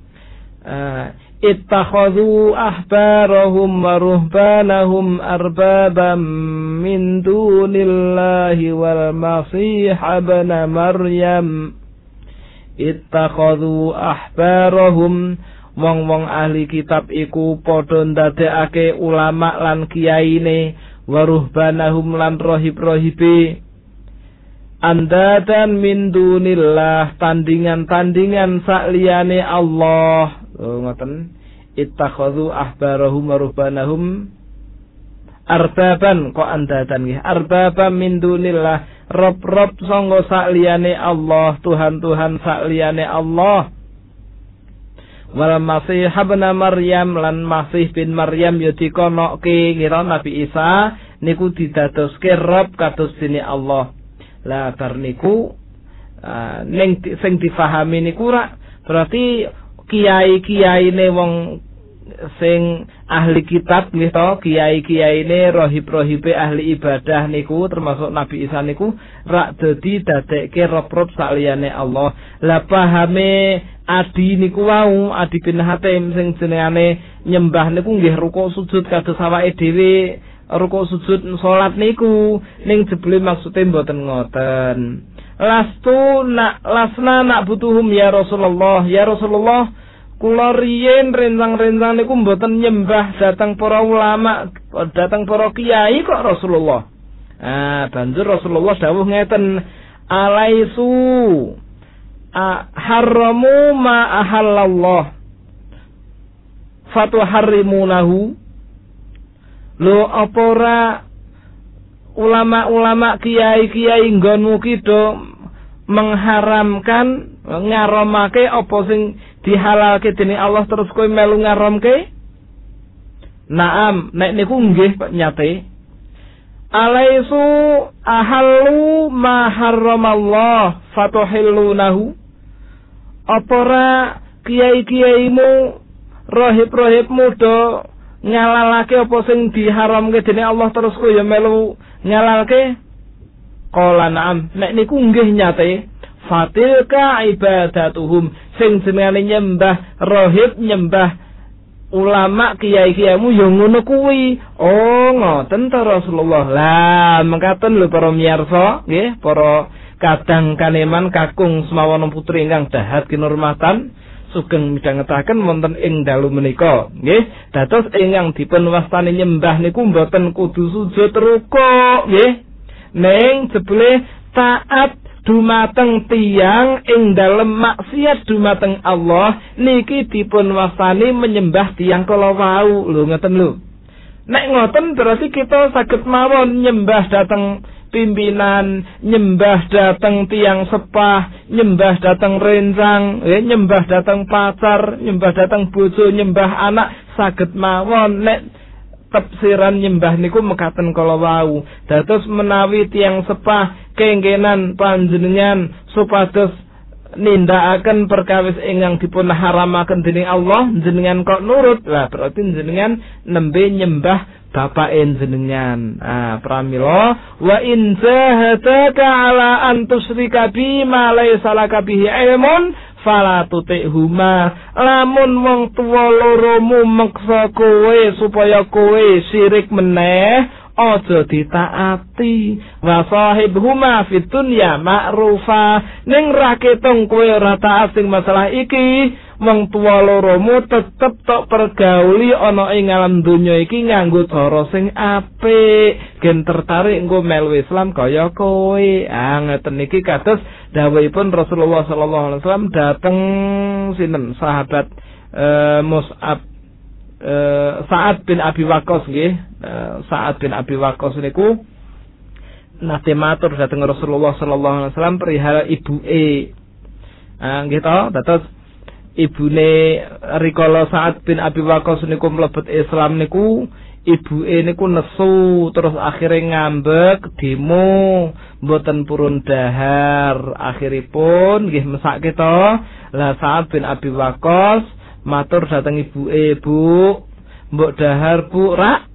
Ittakhadhu ahbarahum wa ruhbanahum arbabam min dunillahi wal masih ibn Maryam. Ittakhadhu ahbarahum, wong-wong ahli kitab iku padha ndadekake ulama lan kiyaine, wa ruhbanahum lan rohib-rohibe, andadan min dunillah, tandingan-tandingan sakliyane Allah. Ngoten, ittakhadhu ahbarahum wa ruhbanahum arbaban, kok andadan nggih, arbaban min dunillah, rob-rob sangga sakliyane Allah, Tuhan-Tuhan sakliyane Allah. Wal masih ibn Maryam, lan Masih bin Maryam ya dikonoke ngira Nabi Isa niku didadoske rob kados dene Allah. Lah bar niku ning sing difahami niku berarti kiai-kiyaine wong sing ahli kitab nggih to, kiai-kiyaine rohib-rohibe ahli ibadah niku termasuk Nabi Isa niku rak dadi dadekke rob-rob sakliyane Allah. Lah pahame adi niku wau, Adi bin Hatim sing jenengane nyembah niku nggih rukuk sujud kados awake dhewe rukuk sujud salat niku, ning jebule maksude mboten ngoten. Lasna nak butuhum ya Rasulullah. Ya Rasulullah, kula riyen rencang-rencang niku mboten nyembah datang para ulama, datang para kiai kok Rasulullah. Banjur Rasulullah dawuh ngeten, alaisu haramu ma ahallallah fatuharrimunahu. Lho apa ora ulama-ulama kiai-kiai nggonmu ki do mengharamkan ngaramake apa sing dihalalke dening Allah terus kowe melu ngaramke? Naam, nek niku nggih Pak nyate. Alaisu ahallu ma harramallah fatuhillunahu. Apa ora kiai-kiaimu, rohib-rohibmu do ngalalake apa sing diharamke dening Allah terus kowe ya melu ngalalke? Qala na'am, nek niku nggih nyate. Fatilka ibadatuhum, sing jenenge nyembah rohib, nyembah ulama kiai-kiaimu ya ngono kuwi. Oh ngoten ta Rasulullah. Lah mengkaten lho para miyarsa nggih, para kadang kaneman kakung semawana putri ingkang dahat kinurmatan sugeng midhangetaken wonten ing dalu menika nggih. Dados ingkang dipun wastani nyembah niku mboten kudu sujud rukuk nggih, ning jebule taat dumateng tiyang ing dalem maksiat dumateng Allah niki dipun wastani menyembah tiyang kala wau. Lho ngoten lho. Nek ngoten berarti kita saged mawon nyembah dateng pimpinan, nyembah dateng tiyang sepah, nyembah dateng rencang, nyembah dateng pacar, nyembah dateng bojo, nyembah anak, saged mawon. Nek tafsiran nyembah niku mekaten kala wau. Dados menawi tiyang sepah kengkenan panjenengan supados nindakaken perkawis ingkang dipun haramaken dening Allah, jenengan kok nurut, lah berarti jenengan nembe nyembah bapake jenengan. Pramila wa in jahadaka ala an tusyrika bi ma laysa laka bihi ilmun fala tuti'huma. Lamun wong tuwa loromu meksa kowe supaya kowe syirik meneh, aja ditaati. Wa sahibhuma fid dunya ma'rufa, ning ra ketung kowe ora taat sing masalah iki, wong tuwa loromu tetep tok pergauli ana ing alam donya iki nganggo cara sing apik, gen tertarik engko melu Islam kaya kowe. Ngeten iki kados dawuhipun Rasulullah sallallahu alaihi wasallam dateng sinten sahabat Mus'ab Sa'ad bin Abi Waqqas nggih. Sa'ad bin Abi Waqqas niku nate matur dhateng Rasulullah sallallahu alaihi wasallam perihal ibuke. Nggih to, dados ibune rikala Sa'ad bin Abi Waqqas niku mlebet Islam niku ibuke niku nesu terus akhire ngambek demo mboten purun dahar. Akhiripun nggih mesake to. Lah Sa'ad bin Abi Waqqas matur dhateng ibuke, "Bu, mbok dahar Bu, rak.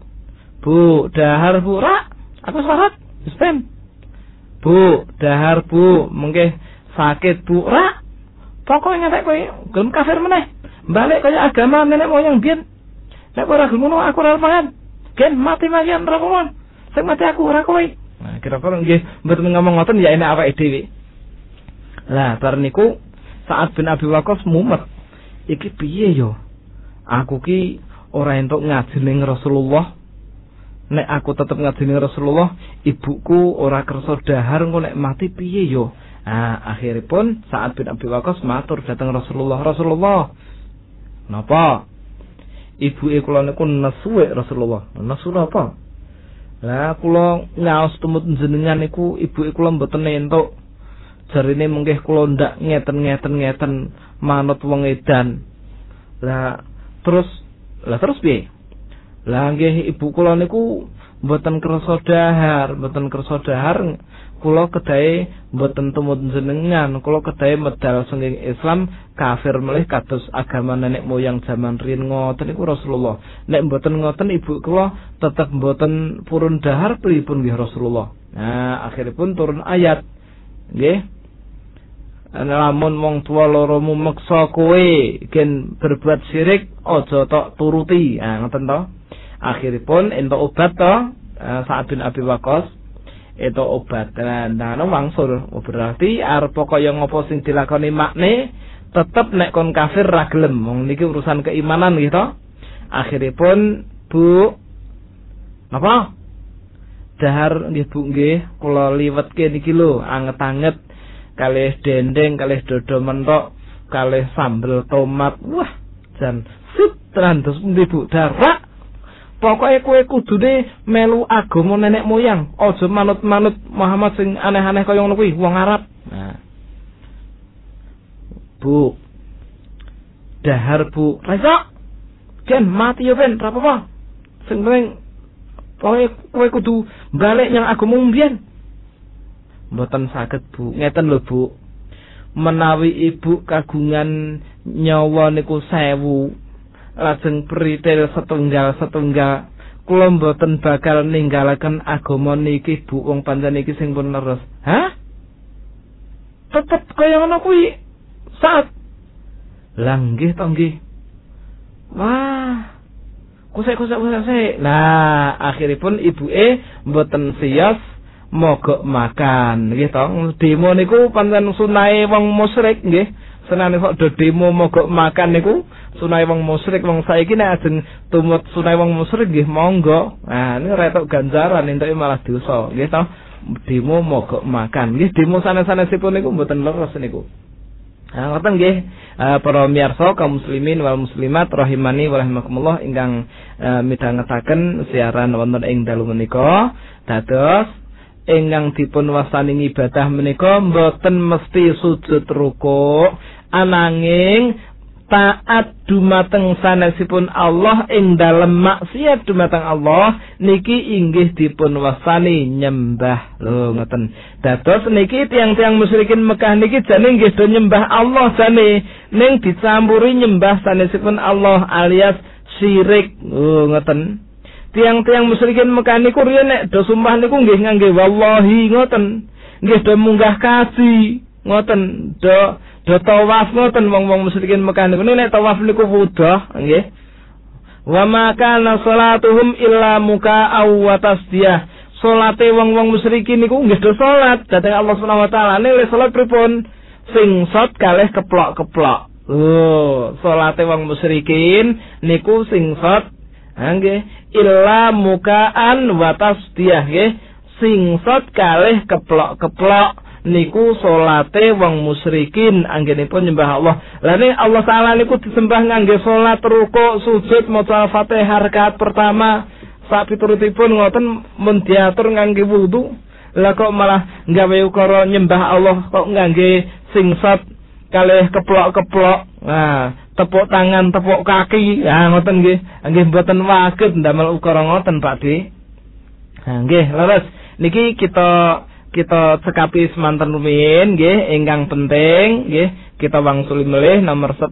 Bu, dahar Bu, rak. Aku sarat, Spem. Bu, dahar Bu, mengke sakit Bu, rak. Pokoke ngantek kowe gelem kafir meneh. Balik kaya agama nenek moyang biyen. Nek ora gelem ngono aku ora pangan. Gen mati malian ora kon. Sing mati aku ora kowe." Nah, kira-kira nggih mboten ngomong ngoten ya enek awake dhewe. Lah, bar niku Sa'ad bin Abi Waqqas mumet. Iki piye yo? Aku ki ora entuk ngaji ning Rasulullah. Nek aku tetep ngaji ning Rasulullah, ibuku ora kersa dahar engko nek mati piye yo? Nah, akhiripun Sa'ad bin Abi Waqqas matur dhateng Rasulullah, "Rasulullah, napa? Ibuke kula niku nesu Rasulullah." "Nesu napa?" "Lah kula ngaos tumut jenengan niku ibuke kula mboten entuk. Jarine mengke kula ndak ngeten manut wong edan." Lah terus piye? "Lah nggih ibu kula niku mboten kersa dahar. Kula kedahe mboten tumut jenengan. Kula kedahe medal senging Islam kafir melih kados agama nenek moyang zaman riyin ngoten niku Rasulullah. Nek mboten ngoten ibu kula tetep mboten purun dahar pripun nggih Rasulullah." Nah, akhiripun turun ayat. Nggih. Lamun wong tuwa loromu meksa kowe gen berbuat syirik aja tok turuti. Nah, ngoten to. Akhiripun entuk obat to, Sa'ad bin Abi Waqqas entuk obat. Nah, wangsul berarti arep kaya ngopo sing dilakoni makne tetep nek kon kafir ra gelem. Wong niki urusan keimanan nggih to. Akhiripun, "Bu, napa? Dahar nggih Bu nggih, kula liwetke niki lho, anget-anget kalih dendeng, kalih dodo mentok, kalih sambel tomat. Wah, jan sip tenan terus pundi Bu darak. Pokoke kowe kudune melu agama nenek moyang, aja manut-manut Muhammad sing aneh-aneh kaya ngono kuwi, wong Arab." Nah. "Bu, dahar Bu." "Rasa ken mati yo ben, ora apa-apa. Sing penting pokoke kowe kudu balik nyang agama mbiyen." "Mboten saged Bu, ngeten lho Bu. Menawi ibu kagungan nyawa niku 1000, lajeng pritil setunggal, kula mboten bakal ninggalaken agama niki Bu, wong pancen niki sing pun leres." "Hah? Tetep kaya ngono kuwi, Saat?" "Lah nggih to nggih." "Wah, kusik. Nah, akhiripun ibuke mboten siyos mogok makan nggih to. Demo niku pancen sunahe wong musyrik nggih. Senane kok do demo mogok makan niku sunahe wong musyrik. Wong saiki nek ajeng tumut sunahe wong musyrik nggih monggo. Nah, niku retok ganjaran entuke malah dosa nggih to. Demo mogok makan nggih, demo sanes-sanesipun niku mboten leres niku. Nah, ngoten nggih para miyarsa kaum muslimin wal muslimat rahimani wa rahimakumullah ingkang midhangetaken siaran wonten ing dalu menika. Dados ingkang dipun wastani ibadah menika mboten mesti sujud rukuk, ananging taat dumateng sanesipun Allah ing dalem maksiat dumateng Allah niki inggih dipun wastani nyembah. Lho ngoten. Dados niki tiang-tiang musyrikin Mekah niki jane nggih do nyembah Allah jane, ning dicampuri nyembah sanesipun Allah alias syirik. Oh ngoten. Tiang-tiang musyrikin Mekah niku riyen nek do sumpah niku nggih ngangge wallahi ngoten. Nggih do munggah kaji ngoten, do tawaf ngoten wong-wong musyrikin Mekah niku. Nek tawaf niku wudah nggih. Wa ma kana salatuhum illa muka'aw wa tasdiyah. Salate wong-wong musyrikin niku nggih do salat dhateng Allah Subhanahu wa taala. Nek salat pripun? Singsot kalih keplok-keplok. Oh, salate wong musyrikin niku singsot nggih illa muka'an wa tasdiyah nggih, singsot kalih keplok-keplok niku salate wong musyrikin anggenipun nyembah Allah. Lah nek Allah taala niku disembah ngangge salat rukuk sujud maca Fatihah rakaat pertama sak piturutipun ngoten mun diatur ngangge wudu. Lah kok malah gawe ukara nyembah Allah kok ngangge singsot kalih keplok-keplok. Nah, tepuk tangan, tepuk kaki. Ya ngoten nggih. Nggih mboten waget ndamel ukara ngoten, Pakde. Nah, nggih, leres. Niki kita cekapi semanten rumiyin nggih ingkang penting nggih kita wangsuli melih nomor 1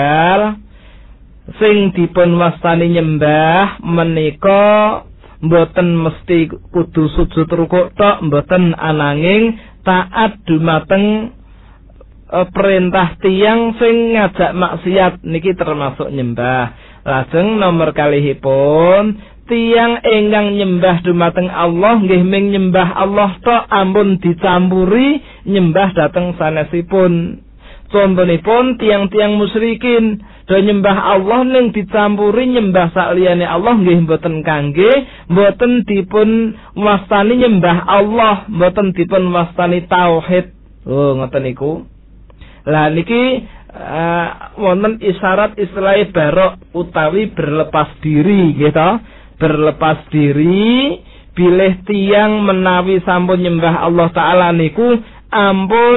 sing dipun wastani nyembah menika mboten mesti kudu sujud rukuk tok, mboten ananging taat dumateng perintah tiyang sing ngajak maksiat niki termasuk nyembah. Lajeng nomor kalihipun tiyang ingkang nyembah dumateng Allah nggih ming nyembah Allah tok ampun dicampuri nyembah dhateng sanesipun. Contonipun tiang-tiang musyrikin do nyembah Allah ning dicampuri nyembah sakliyane Allah nggih mboten kangge, mboten dipun wastani nyembah Allah, mboten dipun wastani tauhid. Oh ngoten niku. Lah niki wonten isyarat istilah barok utawi berlepas diri gitu. Berlepas diri bilih tiang menawi sampun nyembah Allah Ta'ala niku ampun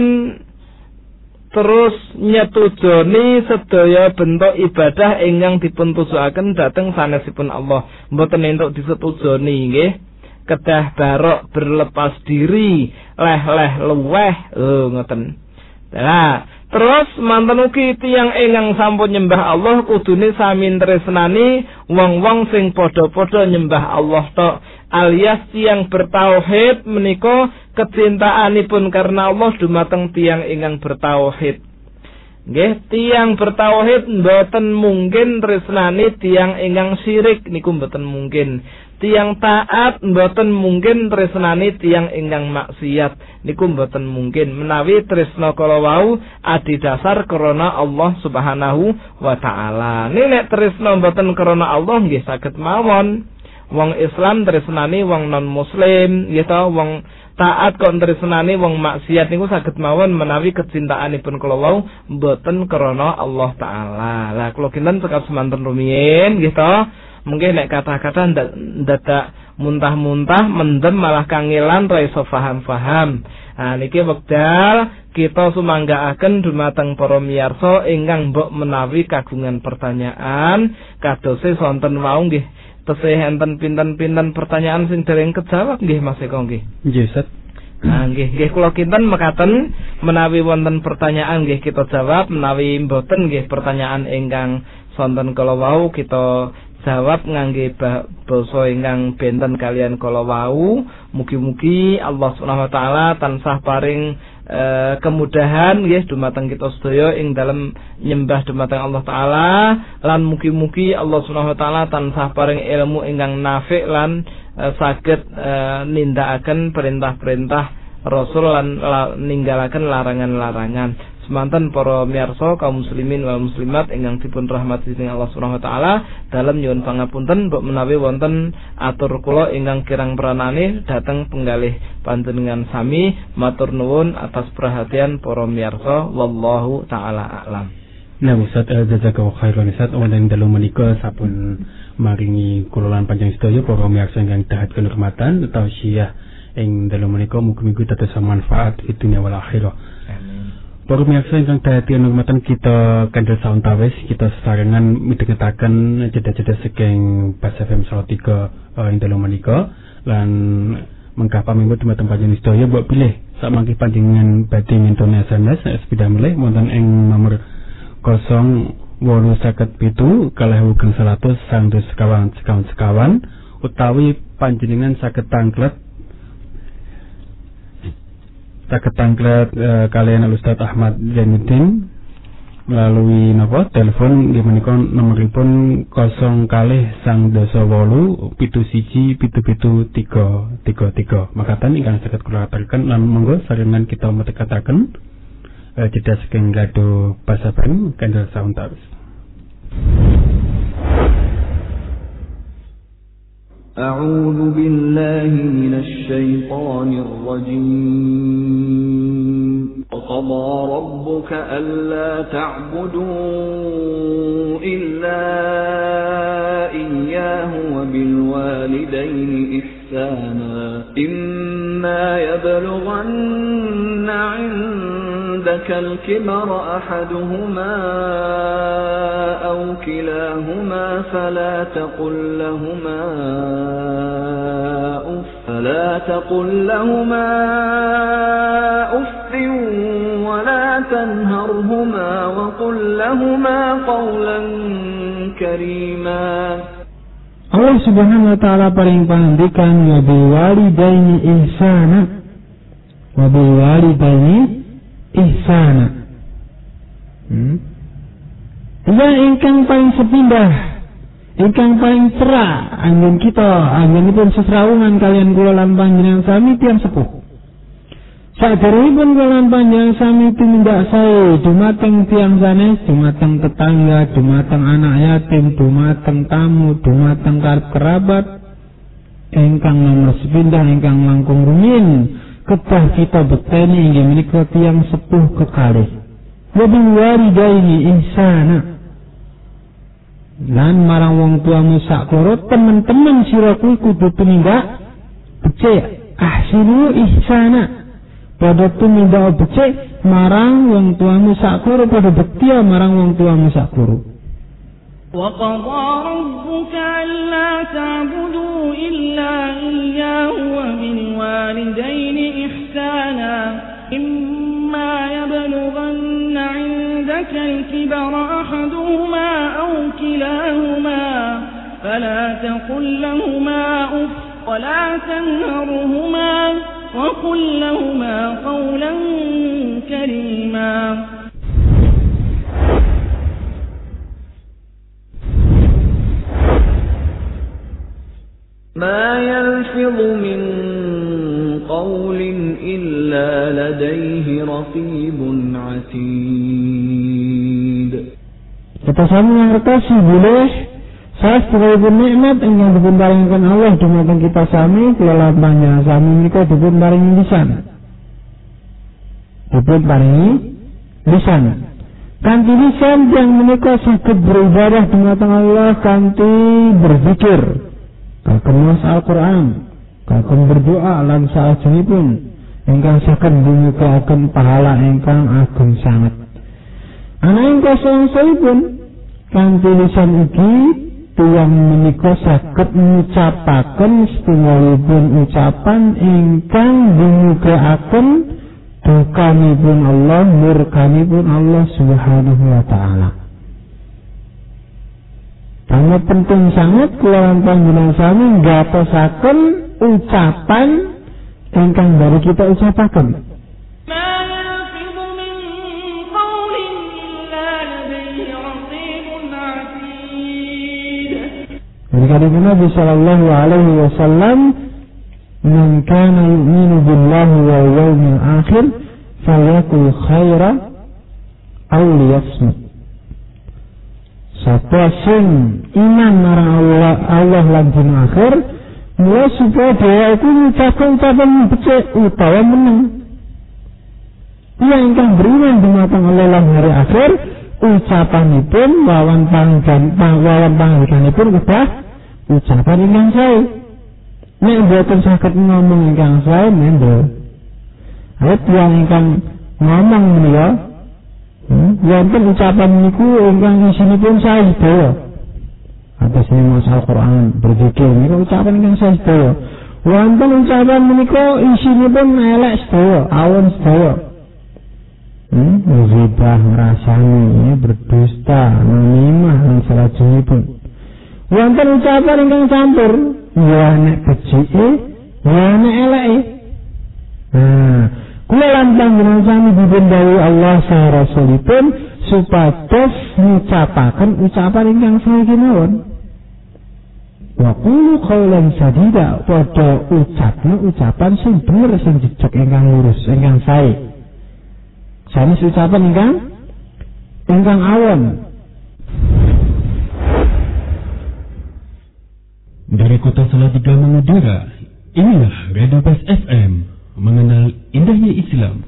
terus nyetujoni sedaya bentuk ibadah ingkang dipun tujuaken dhateng sanesipun Allah, mboten entuk disetujoni nggih. Kedah barok berlepas diri leh-leh luweh ngoten. Nah, terus manten ugi tiyang ingkang sampun nyembah Allah kudune sami tresnani wong-wong sing padha-padha nyembah Allah tok, alias tiyang bertauhid menika kecintaanipun karena Allah dumateng tiyang ingkang bertauhid. Nggih, tiyang bertauhid mboten mungkin tresnani tiyang ingkang syirik niku mboten mungkin. Tiyang taat mboten mungkin tresnani tiyang ingkang maksiat niku mboten mungkin menawi tresna kala wau adhedhasar krana Allah Subhanahu wa taala. Nek tresna mboten krana Allah nggih saged mawon. Wong Islam tresnani wong non muslim nggih to, wong taat kok tresnani wong maksiat niku saged mawon menawi kecintaanipun kala wau mboten krana Allah taala. Lah kula kinten cekap semanten rumiyin nggih to. Mungkin nek kata-kata ndadak muntah-muntah mendem malah kangelan ra iso paham-paham. Nah niki wekdal kita sumanggaaken dumateng para miyarsa ingkang mbok menawi kagungan pertanyaan kadose sonten wau nggih tesih enten pinten-pinten pertanyaan sing dereng kejawab nggih Mas Eko nggih. Nggih, Ustaz. Nah nggih kula kinten mekaten menawi wonten pertanyaan nggih kita jawab, menawi mboten nggih pertanyaan ingkang sonten kala wau kita jawab ngangge basa ingkang benten kalian kala wau. Mugi-mugi Allah Subhanahu wa taala tansah paring kemudahan nggih dumateng kita sedaya ing dalem nyembah dumateng Allah taala, lan mugi-mugi Allah Subhanahu wa taala tansah paring ilmu ingkang nafik lan saged nindakaken perintah-perintah Rasul lan ninggalaken larangan-larangan. Semanten para miyarsa kaum muslimin wal muslimat ingkang dipun rahmati dening Allah Subhanahu wa taala, dalem nyuwun pangapunten mbok menawi wonten atur kula ingkang kirang pranane dhateng penggalih panjenengan sami. Matur nuwun atas perhatian para miyarsa, wallahu taala a'lam. Nah, Ustaz jazakallahu khairan Ustaz, wonten dalu menika sampun maringi kula lan panjenengan sedaya para miyarsa ingkang dahat kinurmatan utawi syiah ing dalu menika mugi-mugi dados manfaat di dunia wal akhirah. Para pemirsa ingkang dadi hormatan kita kandel sawetawis kita sesarengan midhangetaken jeda-jeda saking Bas FM 103 ing dalu menika lan mengkah paminggu dumateng panjenengan sedaya mbok pilih sak mangke panjenengan badhe ngenteni SMS sepeda melih wonten ing nomor 0857 100 sekawan utawi panjenengan saged tanglet kalian Ustaz Ahmad Zainuddin melalui telepon nggih menika nomoripun 0-871-77-333. Makaten ingkang saged kula aturaken lan monggo sarengan kita metekataken jeda saking radio Bas FM kandel sawetawis. أعوذ بالله من الشيطان الرجيم وقضى ربك ألا تعبدوا إلا إياه وبالوالدين إحسانا إما يبلغن عند عندك الكبر أحدهما أو كلاهما فلا تقل لهما أف ولا تنهرهما وقل لهما قولا كريما. Allah Subhanahu wa taala paling pangandikan wa bil walidaini ihsana. Wa bil walidaini ihsana. Ya ingkang paling sepindah, ingkang paling cerah anggen kita, anggenipun sesrawungan kalian kula lan panjenengan sami tiyang sepuh. Saderengipun kula lan panjenengan sami tumindak sae dumateng tiyang sanes, dumateng tetangga, dumateng anak yatim, dumateng tamu, dumateng kerabat ingkang nomor sepindah ingkang langkung rumiyin kedah kita bekteni inggih menika tiyang sepuh kekalih. Wa bil walidaini ihsana. Lan marang wong tuamu saklara temen-temen sira kudu tumindak becik, ahsinu ihsana. Pada tumindak becik marang wong tuamu saklara, pada bekti marang wong tuamu saklara. Wa qadha rabbuka alla ta'budu illa iyyahu wa bil walidayni ihsana. Imma yablughanna 'indaka al-kibara ahaduhuma aw kilahuma fala taqul lahumā uff wa la tanharhumā وقل لهما قولا كريما. ما يلفظ من قول إلا لديه رقيب عتيد. Kita sami ngertos boleh sastripun nikmat ingkang dipun paringaken Allah dumateng kita sami kula lan panjenengan sami menika dipun paringi lisan. Dipun paringi lisan. Kanthi lisan yang menika saged beribadah dumateng Allah kanthi berzikir, kagem maos Al-Qur'an, kagem berdoa lan salajengipun ingkang saged nyuguhaken pahala ingkang agung sanget. Ana ing kosongipun kanthi lisan iki tiyang menika saged ngucapaken setunggalipun ucapan ingkang nyuguhaken dukanipun Allah, murkanipun Allah Subhanahu wa taala. Sangat penting sangat kula lan panjenengan sami nggatosaken ucapan ingkang dari kita ucapaken. Dari Nabi sallallahu alaihi wasallam, "Man kana yu'minu billahi wal yawmil akhir falyakul khaira aw liyasmut." Sapa sing iman marang Allah lan dina akhir, mula supaya dia itu ngucapkan ucapan becik utawa meneng. Dia ingkang beriman dumateng Allah lan hari akhir, ucapanipun wawan panggilanipun kedah ucapan ingkang sae. Nek mboten saged ngomong ingkang sae mendel. Ayat yang ingkang ngomong menika wonten ucapan niku ingkang isinipun sae sedaya. Atas maos Al-Qur'an berzikir niku ucapan ingkang sae sedaya. Wonten ucapan menika isinipun elek sedaya, awon sedaya. Ghibah, ngrasani, berdusta, namimah lan salajengipun. Wonten ucapan ingkang campur, ya nek becike, ya nek eleke. Kula lan panjenengan sami dipun dawuhi Allah saha Rasulipun supados ngucapaken ucapan ingkang sae kemawon. Wa qulu qawlan sadida, padha ucapna ucapan sing bener, sing jejeg, ingkang lurus, ingkang sae. Sanes ucapan ingkang awon. Dari kota Salatiga Madura, inilah Radio Bas FM, mengenal indahnya Islam.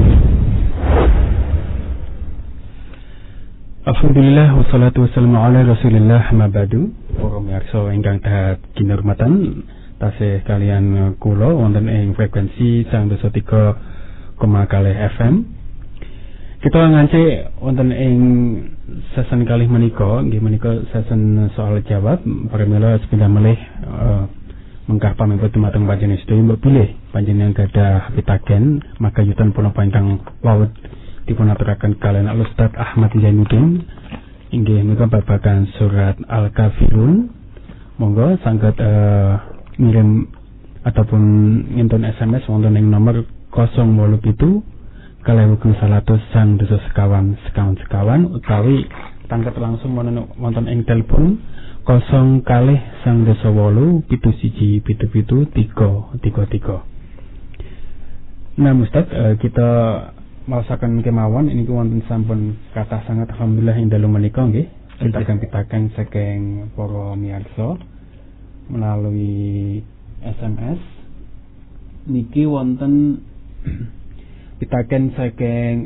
Alhamdulillah wassalatu wassalamu ala Rasulillah ma ba'du. Para pamirsa ingkang tahat kinurmatan, tasih kalian kula wonten ing frekuensi 103,0 FM. Kita ngancik wonten ing sesen kalih menika, nggih menika sesen soal jawab. Pramila sepindah melih mengkah pamipun dumateng panjenengan sedaya mbok pilih panjenengan gadah pitaken maka yutan punapa ingkang wau dipun aturaken kalian Al-Ustaz Ahmad Zainuddin inggih menika babagan surat Al-Kafirun. Monggo saged ngirim ataupun ngintun SMS wonten ing nomor 087 100 sekawan utawi tangket langsung wonten ing telepon 0 kalih 908 7777 333. Nah Ustaz, kita maosaken kemawon ini wonten sampun kathah sangat alhamdulillah ing dalu menika nggih pitaken saking para miyarsa melalui SMS niki wonten pitaken saking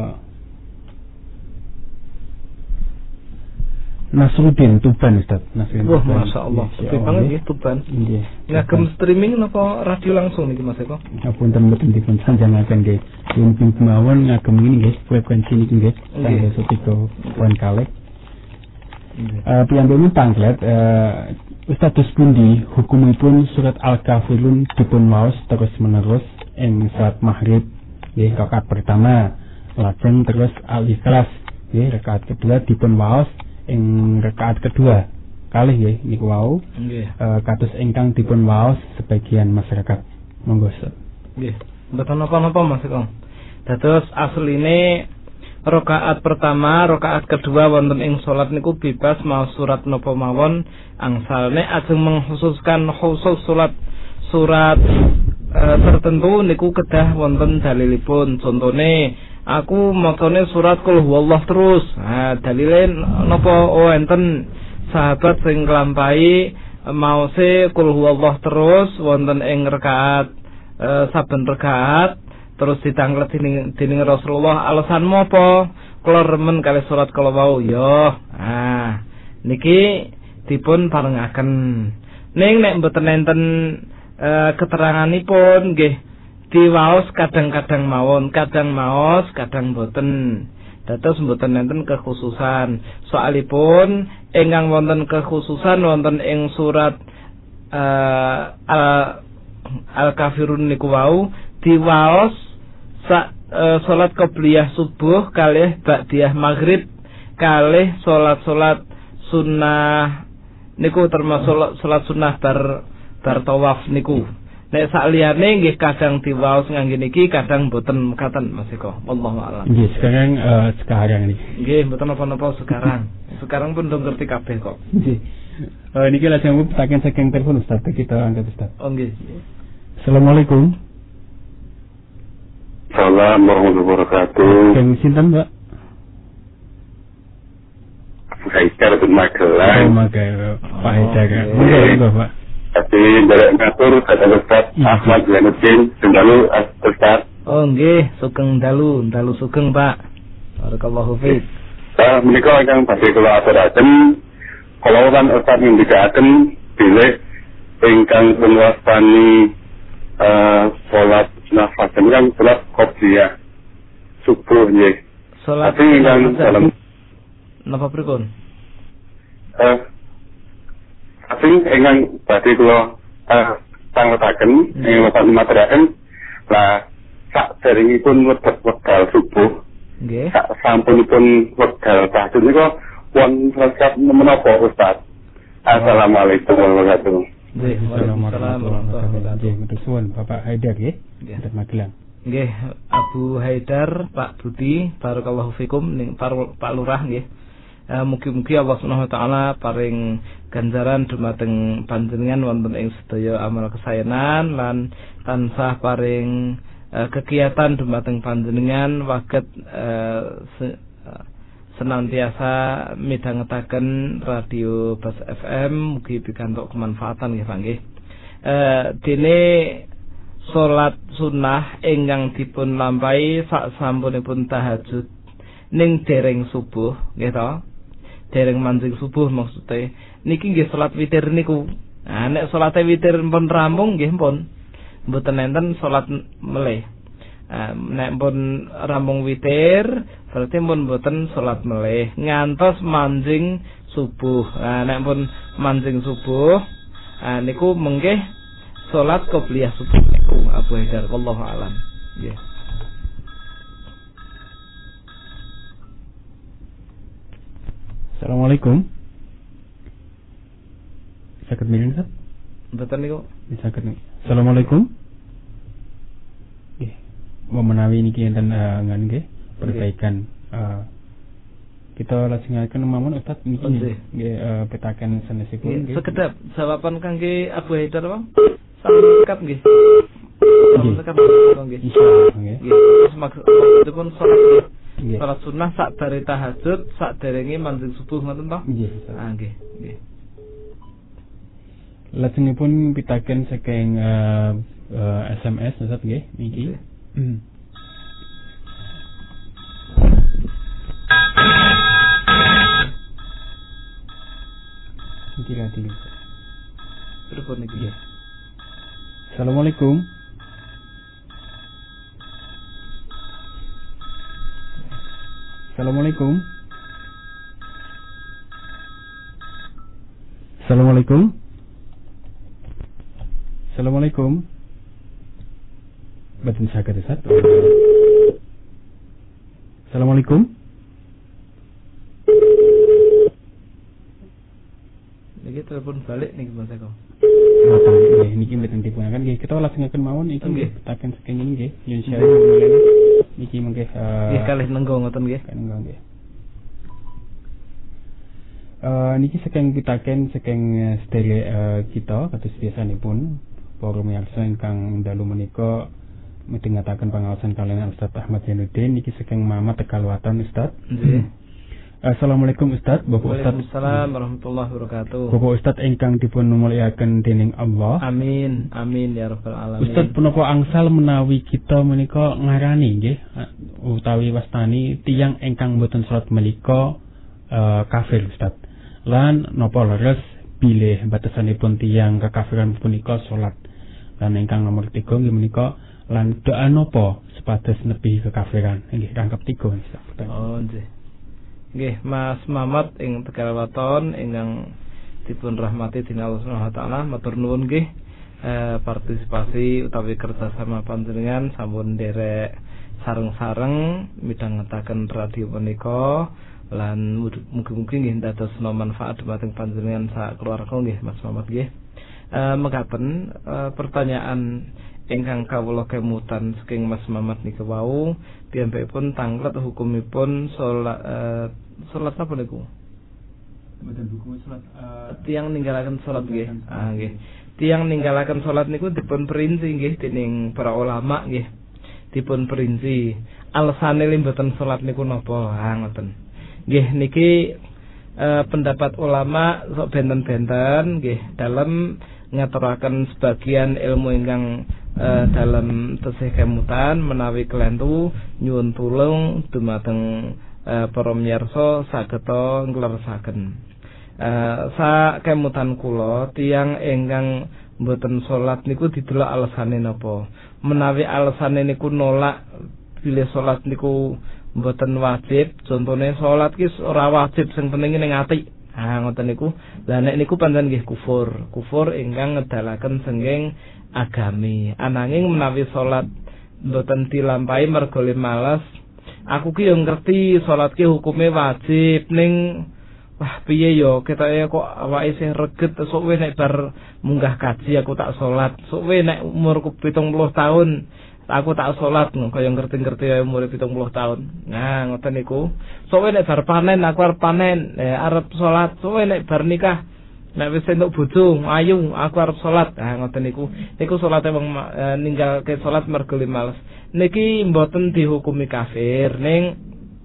Nasruddin Tuban Ustaz. Nasruddin. Wah, masyaallah. Sepi banget nggih Tuban. Nggih. Ngagem streaming napa radio langsung niki Mas Eko? Ngapunten mboten dipun sanjangaken nggih. Pun kemawon ngagem ini nggih frekuensi niki nggih. Tanggal 3 kalih. Piyambakipun panglet Ustaz pundi hukumipun surat Al-Kafirun dipun waos terus menerus ing salat maghrib nggih rakaat pertama, lajeng terus Al-Ikhlas nggih rakaat kedua dipun waos ing rakaat kedua kalih nggih niku wau nggih kados ingkang dipun waos sebagian masyarakat. Monggo Ustaz. Nggih, mboten napa-napa Mas Eko. Dados asline rakaat pertama, rakaat kedua wonten ing salat niku bebas maos surat napa mawon angsalne ajeng mengkhususkan khusus surat tertentu niku kedah wonten dalilipun. Contone aku macane surat Qul Huwallah terus. Nah, dalile napa enten sahabat sing nglampahi maose Qul Huwallah terus wonten ing rakaat saben rakaat terus ditanglet dening Rasulullah. Alasanmu apa? Kula remen kali surat kala wau ya. Nah, niki dipun parengaken. Ning nek mboten enten keteranganipun nggih diwaos kadang-kadang mawon, kadang maos, kadang boten. Dados mboten enten kekhususan. Soalipun ingkang wonten kekhususan wonten ing surat Al-Kafirun niku wau diwaos salat qobliyah subuh kalih ba'diyah maghrib kalih salat sunnah niku termasuk salat sunnah bar tawaf niku. Nek sakliyane nggih kadang diwaos ngangge niki kadang boten mekaten Mas Eko. Wallahu a'lam. Nggih, sekarang niki. Nggih, mboten napa-napa sekarang. Sekarang pun do ngerti kabeh kok. Nggih. Niki lajeng pitaken saking telepon Ustaz, kita angkat Ustaz. Oh nggih. Assalamualaikum. Assalamualaikum warahmatullahi wabarakatuh. Kang sinten, Mbak? Abu Haidar bin Magelang. Pak Haidar. Monggo, Pak. Tapi dari ngatur kata Ustaz Ahmad Zainuddin Sendalu Ustaz. Oh nggih, sugeng dalu sugeng Pak. Barakallahu fiik. Menika ingkang badhe kula aturaken kula kan Ustaz ngendikaken bilih ingkang punwastani salat nafas kan salat qobliyah subuh nggih. Salat ingkang dalam napa pripun? Tapi ingkang badhe kula tangletaken ing materaken lah saderengipun wekdal subuh nggih sampunipun wekdal tahajud niku wonten resep menapa Ustaz? Assalamualaikum warahmatullahi wabarakatuh. Nggih, waalaikumsalam warahmatullahi wabarakatuh. Suwun Bapak Haidar nggih. Nggih, Magelang. Nggih, Abu Haidar, Pak Budi, barakallahu fikum ning Pak Lurah nggih. Mugi-mugi Allah Subhanahu wa taala paring ganjaran dumateng panjenengan wonten ing sedaya amal kesaenan lan tansah paring kegiatan dumateng panjenengan waget senantiasa midhangetaken radio Bas FM mugi pikantuk kemanfaatan nggih Pak nggih. Dene salat sunnah ingkang dipun lampahi sak sampunipun tahajud ning dereng subuh nggih to. Dereng manjing subuh maksudnya niki nggih salat witir niku. Nah nek salate witir pun rampung nggih pun mboten enten salat melih. Nek pun rampung witir berarti pun mboten salat melih ngantos manjing subuh. Nek pun manjing subuh niku mengke salat qobliyah subuh niku Abu Haidar wallahu alam. Nggih. Assalamualaikum. Sakit miring Ustaz? Mboten niku. Sakit nih. Assalamualaikum. Nggih. Mau menawi niki enten ngan nggih perbaikan kita lajengaken mawon Ustaz niki nggih petaken sanesipun nggih. Sekedap jawaban kangge Abu Haidar Bang. Sampun dekat nggih. Sampun dekat nggih. Insyaallah nggih. Terus maksudipun salat salat sunah sak bare tahajud sak derenge manjing subuh ngoten to? Nggih. Nggih, nggih. Lajengipun pitaken saking SMS Ustaz nggih niki. Niki telepon niki. Assalamualaikum. Assalamualaikum. Assalamualaikum. Assalamualaikum. Batin saged Ustaz. Assalamualaikum. Niki telepon balik niki Mas Eko. Nggih niki mboten dipunaken nggih kita lajengaken mawon iki nggih petaken saking ini nggih insyaallah niki mengke nggih kalih nenggo ngoten nggih. Nenggo nggih. Niki saking pitaken saking sedherek kita kados biasanipun para miyarsa ingkang dalu menika midhangetaken pangaosan kaliyan Ustaz Ahmad Zainuddin niki saking Mamat Tegal Waton Ustaz. Nggih. Assalamualaikum Ustaz, Bapak Ustaz. Waalaikumsalam warahmatullahi wabarakatuh. Bapak Ustaz ingkang dipun mulyakaken dening Allah. Amin, amin ya rabbal alamin. Ustaz punapa angsal menawi kita menika ngarani nggih utawi wastani tiyang ingkang boten salat menika kafir Ustaz. Lan napa leres bilih batasanipun tiyang kekafiran punika salat. Lan ingkang nomor 3 nggih menika lan doa napa supados nepi kekafiran. Nggih rangkep 3 Ustaz. Oh nggih. Nggih, Mas Mamat ing Tegal Waton ingkang dipun rahmati dening Allah Subhanahu wa taala, matur nuwun nggih partisipasi utawi kerjasama panjenengan sampun nderek sareng-sareng midhangetaken radio menika lan mugi-mugi nggih dadosna manfaat dhumateng panjenengan sak keluarga nggih Mas Mamat nggih. Mekaten pertanyaan ingkang kawula kemutan saking Mas Mamat nika wau piyambakipun tanglet hukumipun salat napa niku? Mboten hukum salat tiyang ninggalaken salat nggih. Nggih. Tiyang ninggalaken salat niku dipun perinci nggih dening para ulama nggih. Dipun perinci alasane mboten salat niku napa? Ngoten. Nggih niki pendapat ulama sok benten-benten nggih dalem ngaturaken sebagian ilmu ingkang dalam tesih kemutan menawi kelentu nyuwun tulung dumateng para miyarsa sageta ngleresaken sak kemutan kula tiyang ingkang mboten salat niku didelok alasane napa menawi alasane niku nolak bilih salat niku mboten wajib contone salat ki ora wajib sing penting ning ati ngoten niku lha nek niku pancen nggih kufur ingkang ngedalaken senging agami ananging menawi salat mboten dilampahi mergo malas aku ki yo ngerti salat ki hukume wajib ning wah piye yo ketoke kok awake isih reget sok we nek bar munggah kaji aku tak salat sok we nek umurku 70 tahun aku tak salat kaya ngerti-ngerti umur 70 tahun nah ngoten niku sok we nek bar panen aku arep panen arep salat sok we nek bar nikah nek wis entuk bojo ayu aku arep salat ngoten niku salate wong ninggalke salat mergo males niki mboten dihukumi kafir ning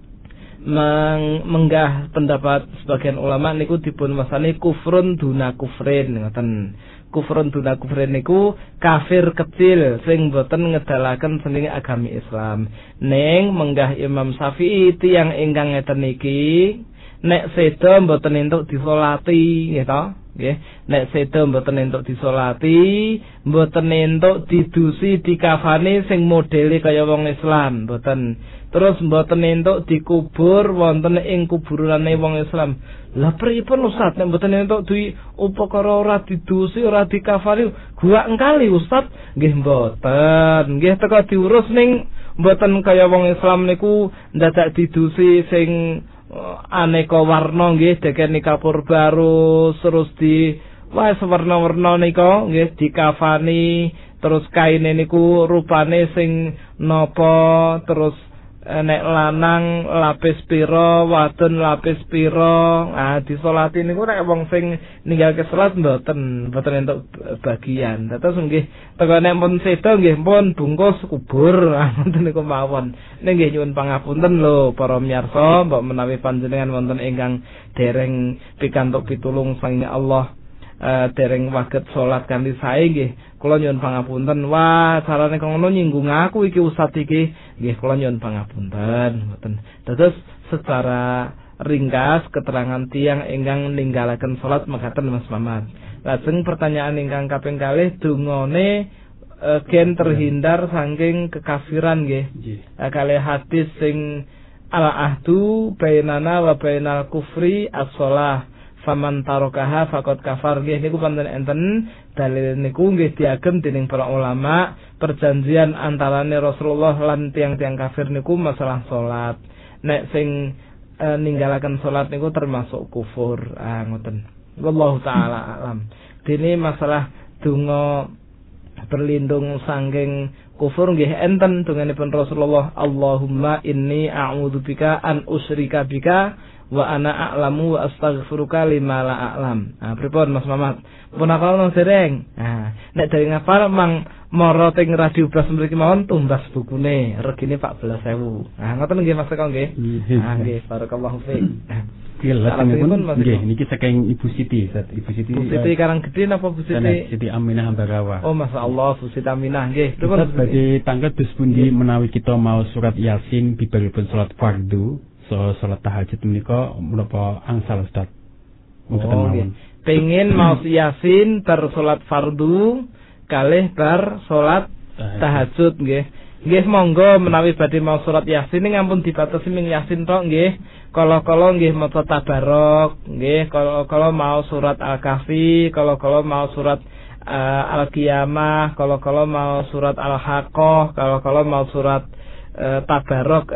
menggah pendapat sebagian ulama niku dipun wasani kufrun duna kufrin ngoten kufrun duna kufrin niku kafir kecil sing mboten ngedalaken sendiri agami Islam ning menggah Imam Syafi'i tiyang ingkang ngeten niki nek seda mboten entuk disolati nggih to nggih. Nek sedo mboten entuk disolati, mboten entuk didusi dikafani sing modele kaya wong Islam, mboten. Terus mboten entuk dikubur wonten ing kuburane wong Islam. Lah pripun Ustaz nek mboten entuk duwi upakara ora didusi, ora dikafani, gua engkali Ustaz? Nggih mboten. Nggih teka diurus ning mboten kaya wong Islam niku ndadak didusi sing aneka warna nggih dekeni kapur baru terus di wis warna-warna nika nggih dikafani terus kaine niku rupane sing napa terus nek lanang lapis pira wadon lapis pira disolati niku nek wong sing ninggalke salat mboten entuk bagian. Terus nggih teko nek pun sedo nggih pun bungkus kubur ngoten niku mawon. Nek nggih nyuwun pangapunten lho para miyarsa mbok menawi panjenengan wonten ingkang dereng pikantuk pitulung saking Allah dereng waget salat kanthi sae nggih kula nyuwun pangapunten. Wah carane kok ngono nyinggung aku iki Ustaz iki nggih kula nyuwun pangapunten mboten. Terus secara ringkas keterangan tiang ingkang ninggalaken salat mekaten Mas Mamat. Lajeng pertanyaan ingkang kaping kalih dungane gen terhindar saking kekafiran nggih. Kalih hadis sing al-ahdu bainana wa bainal kufri as-shalah faman tarokaha faqad kafar nggih niku panten enten dalil niku nggih diagem dening para ulama perjanjian antarane Rasulullah lan tiang-tiang kafir niku masalah salat. Nek sing ninggalaken salat niku termasuk kufur. Ngoten. Wallahu taala alam. Dene masalah donga berlindung saking kufur nggih enten donganipun Rasulullah Allahumma inni a'udzubika an usyrika bika wa ana a'lamu wa astaghfiruka lima la a'lam. Pripun Mas Mamat? Pun akal nang dereng. Nek dereng ngapal mang mara teng radio Blas mriki mawon tumbas bukune regine 14.000. Ngoten nggih Mas Eko nggih. Nggih barakallahu fiik. Nggih nggih niki saking Ibu Siti, Ibu Siti. Bu Siti Karanggede napa Bu Siti? Siti Aminah Ambarawa. Oh masyaallah Bu Siti Aminah nggih. Pripun badhe tanglet dus pundi menawi kita mau surat Yasin bibaripun salat fardu salat tahajud menika menapa angsal Ustaz? Mboten pengen mau Yasin bar salat fardu kalih bar salat tahajud nggih. Nggih monggo menawi badhe mau surat Yasin ning ampun dibatasi ming Yasin tok nggih. Kala-kala nggih maca tabarok nggih, kala-kala mau surat Al-Kahfi, kala-kala mau surat Al-Qiyamah, kala-kala mau surat Al-Haqqah, kala-kala mau surat tabarok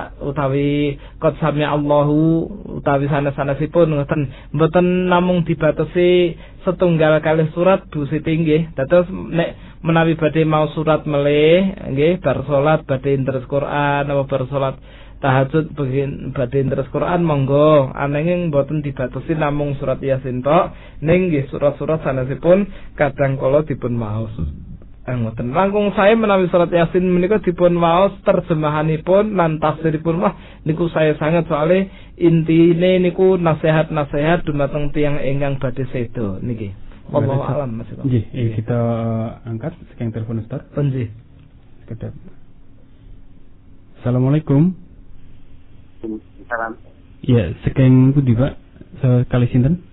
utawi qad sami Allahu utawi sanes-sanesipun ngoten mboten namung dibatasi setunggal kalih surat Bu Siti nggih. Dados nek menawi badhe mau surat melih nggih bar salat badhe deres Quran apa bar salat tahajud badhe deres Quran monggo ananging mboten dibatasi namung surat Yasin tok ning nggih surat-surat sanesipun kadang kala dipun maos. Ngoten langkung saya menawi surat Yasin menika dipun waos terjemahanipun lan tafsiripun wah niku saya sangat soalnya intine niku nasihat-nasihat dumateng tiyang ingkang badhe sedo niki. Wallahu alam Mas. Nggih, kita angkat saking telepon Ustaz. Nggih. Kedap. Assalamualaikum. Salam. Iya, saking pundi Pak? Sekali sinten?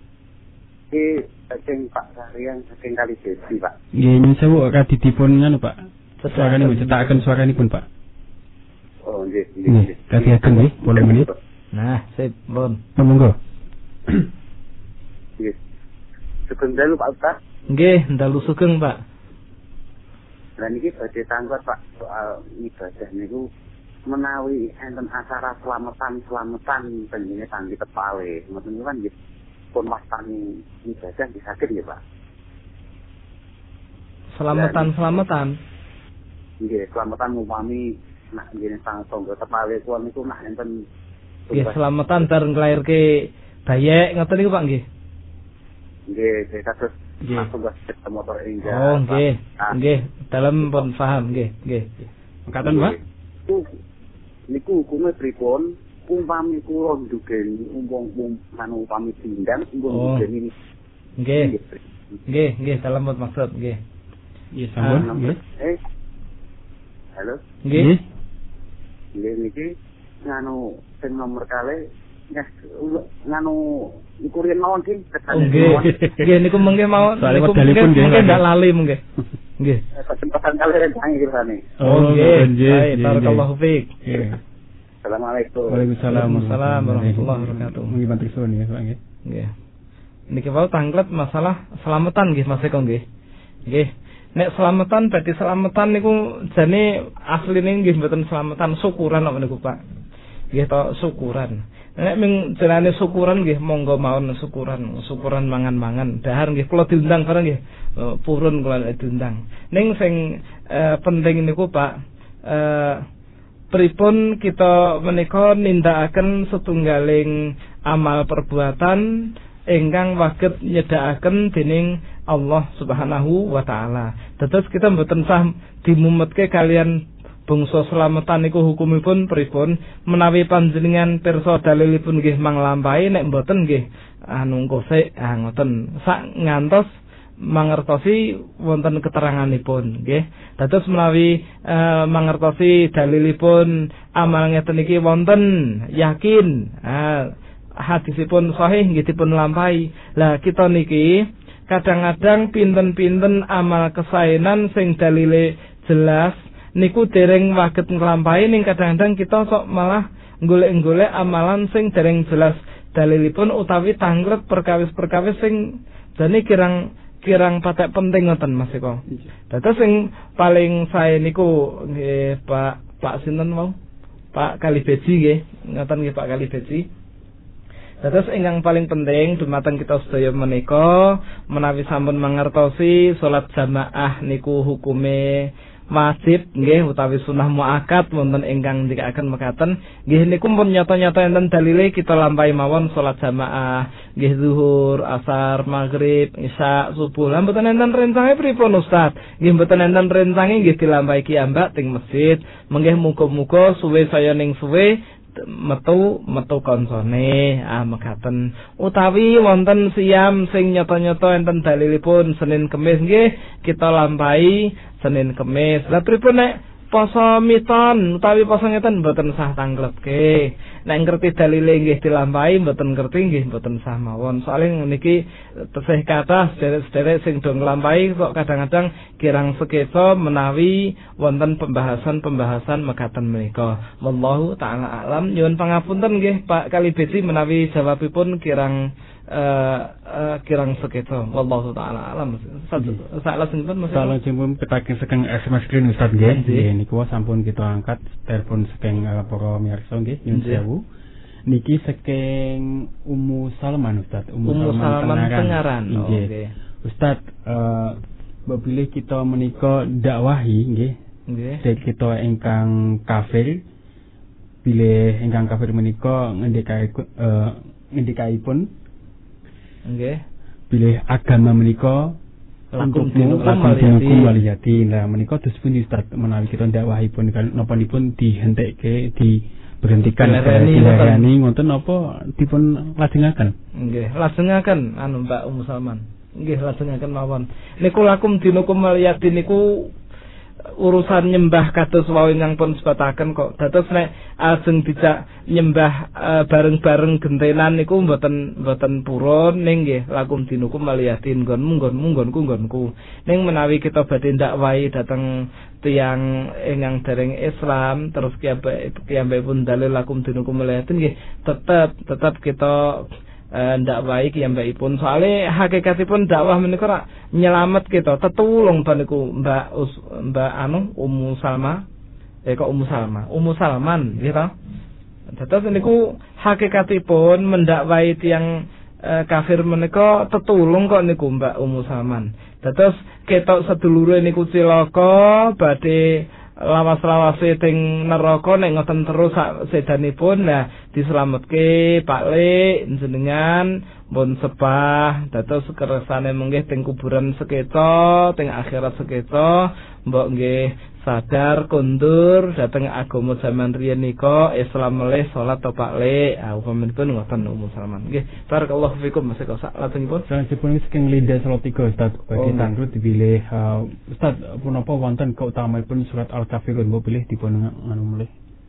Saking Pak Sarian, saking Kali Desi Pak. Nggih, nyuwun sewu kadidipun nganu Pak. Suarane cetaken suaranipun Pak. Oh nggih, nggih. Kadiaken nggih, 8 menit. Nah, sip, pun. Monggo. Nggih. Sugeng dalu Pak Ustaz. Nggih, dalu sugeng Pak. Lah niki badhe tanglet Pak soal ibadah niku menawi enten acara selamatan penjene tangki tepale. Ngoten kan nggih. Pun wastani ibadah disaged ya Pak. Selamatan. Nggih, selamatan upami nak nggih sang tangga tepale kuwi niku nak enten nggih selamatan bareng nglairke bayek ngoten niku Pak nggih. Nggih, kados nggih. Motor enggak. Oh, nggih. Nggih, dalem pun paham nggih. Mekaten Pak. Niku hukume pripun? Umpami kula ndugeni upami pindang ndugeni. Nggih, dalem pun maksud nggih. Nggih, sampun nggih. Halo. Nggih. Nggih niki nganu sing nomor kalih nganu iku riyen mawon ki nggih niku mengke mawon niku mengke ndak lali mengke nggih kesempatan kali rencang iki rasane nggih barakallahu fiik Assalamualaikum. Waalaikumsalam warahmatullahi wabarakatuh. Nggih bantu suwun ya Pak nggih. Nggih. Niki wau tanglet masalah selamatan nggih Mas Eko nggih. Nggih. Nek selamatan berarti selamatan niku jane asline nggih mboten selamatan syukuran apa niku Pak. Nggih to syukuran. Nek ming jenenge syukuran nggih monggo mawon syukuran mangan-mangan. Dahar nggih kula diundang bareng nggih. Purun kula diundang. Ning sing penting niku Pak pripun kita menika nindakaken setunggaling amal perbuatan ingkang waget nyedakaken dening Allah Subhanahu wa taala. Dados kita mboten sah dimumetke kalian bangsa selamatan niku hukumipun pripun menawi panjenengan pirsa dalilipun nggih manglampahi nek mboten nggih kosek ngoten sak ngantos mangertosi wonten keteranganipun nggih. Dados menawi mangertosi dalilipun amal ngeten iki wonten yakin hadisipun sahih nggih dipun lampahi. Lah kita niki kadang-kadang pinten-pinten amal kesaenan sing dalile jelas niku dereng waget nglampahi ning kadang-kadang kita sok malah golek-golek amalan sing dereng jelas dalilipun utawi tanglet perkawis-perkawis sing jane kirang patek penting ngoten Mas Eko. Dados sing paling sae niku nggih Pak sinten wau? Pak Kalibeji nggih. Ngoten nggih Pak Kalibeji. Dados ingkang paling penting dumateng kita sedaya menika menawi sampun mangertosi salat jamaah niku hukume wajib nggih utawi sunah muakkad wonten ingkang ndikaken mekaten nggih niku pun nyata-nyata enten dalile kita lampahi mawon salat jamaah nggih zuhur, asar, maghrib, isya, subuh. Lah mboten enten rencange pripun Ustaz? Nggih mboten enten rencange nggih dilampahi kiambak teng masjid. Menggih muga-muga suwe saya ning suwe metu kancane mekaten utawi wonten siam sing nyata-nyata enten dalilipun Senin Kemis nggih kita lampahi Senin Kemis. Lah pripun nek poso miton utawi poso ngeten mboten sah tangletke. Nek ngerti dalile nggih dilampahi mboten ngerti nggih mboten sah mawon. Soale niki tesih kathah sederek-sederek sing do nglampahi kok kadang-kadang kirang sekeca menawi wonten pembahasan mekaten menika. Wallahu taala alam. Nyuwun pangapunten nggih Pak Kalibeji menawi jawabipun kirang sekeca. Wallahu taala alam. Salajengipun Mas. Salajengipun pitaken saking SMS screen Ustaz nggih. Nggih niku sampun kita angkat telepon saking para mirsa nggih. Nyuwun sewu. Niki saking Ummu Salman Ustaz. Ummu Salman Tengaran. Nggih. Ustaz bila kita menika dakwahi nggih. Nggih. Kita ingkang kafir bilih ingkang kafir menika ngendikaipun nggih bilih agama menika lakum dinukum waliyati. Nah menika dos pundi Ustaz menawi kita dakwahipun nopanipun dihentekke diberhentikan dilayani ngoten napa dipun lajengaken? Nggih lajengaken Mbak Ummu Salman. Nggih lajengaken mawon. Niku lakum dinukum waliyati niku urusan nyembah kados wau ingkang pun sebataken kok. Dados nek ajeng dijak nyembah bareng-bareng gentenan niku mboten purun ning nggih lakum dinukum waliyatin nggonku. Ning menawi kita badhe ndakwahi dhateng tiyang ingkang dereng Islam terus kiyambake pun dalil lakum dinukum waliyatin nggih tetep kita ndakwahi kiyambakipun soalé hakikatipun dakwah menika rak nyelamet kita tetulung niku Mbak Ummu Salma Ummu Salman nggih ta. Dados niku hakikatipun mendakwahi tiyang kafir menika tetulung kok niku Mbak Ummu Salman. Dados ketok sedulure niku cilaka badhe lawas-lawase teng neraka nek ngoten terus sak sedanipun lah dislametke Pak Lek jenengan pun sepah dados kersane menggih teng kuburan sekeca teng akhirat sekeca mbok nggih sadar kondur dhateng agama zaman riyen nika Islam melih salat to Pak Lek upamanipun ngoten Ummu Salman nggih barakallahu fikum Mas Eko sak lajengipun sanesipun saking Linda Salatiga Ustaz badhe tanglet dipilih Ustaz punapa wonten keutamanipun surat Al-Kafirun mbok pilih dipun melih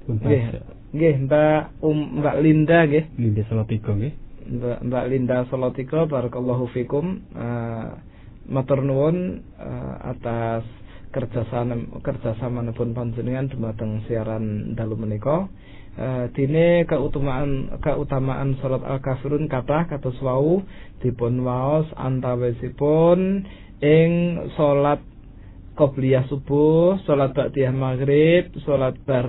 Nggih, Mbak Linda nggih. Linda Salatiga nggih. Mbak Linda Salatiga, barakallahu fikum. Matur nuwun atas kerjasamanipun panjenengan dumateng siaran dalu menika. Dene keutamaan salat Al-Kafirun kathah kados wau dipun waos antawisipun ing salat qobliyah subuh, salat ba'diyah maghrib, salat bar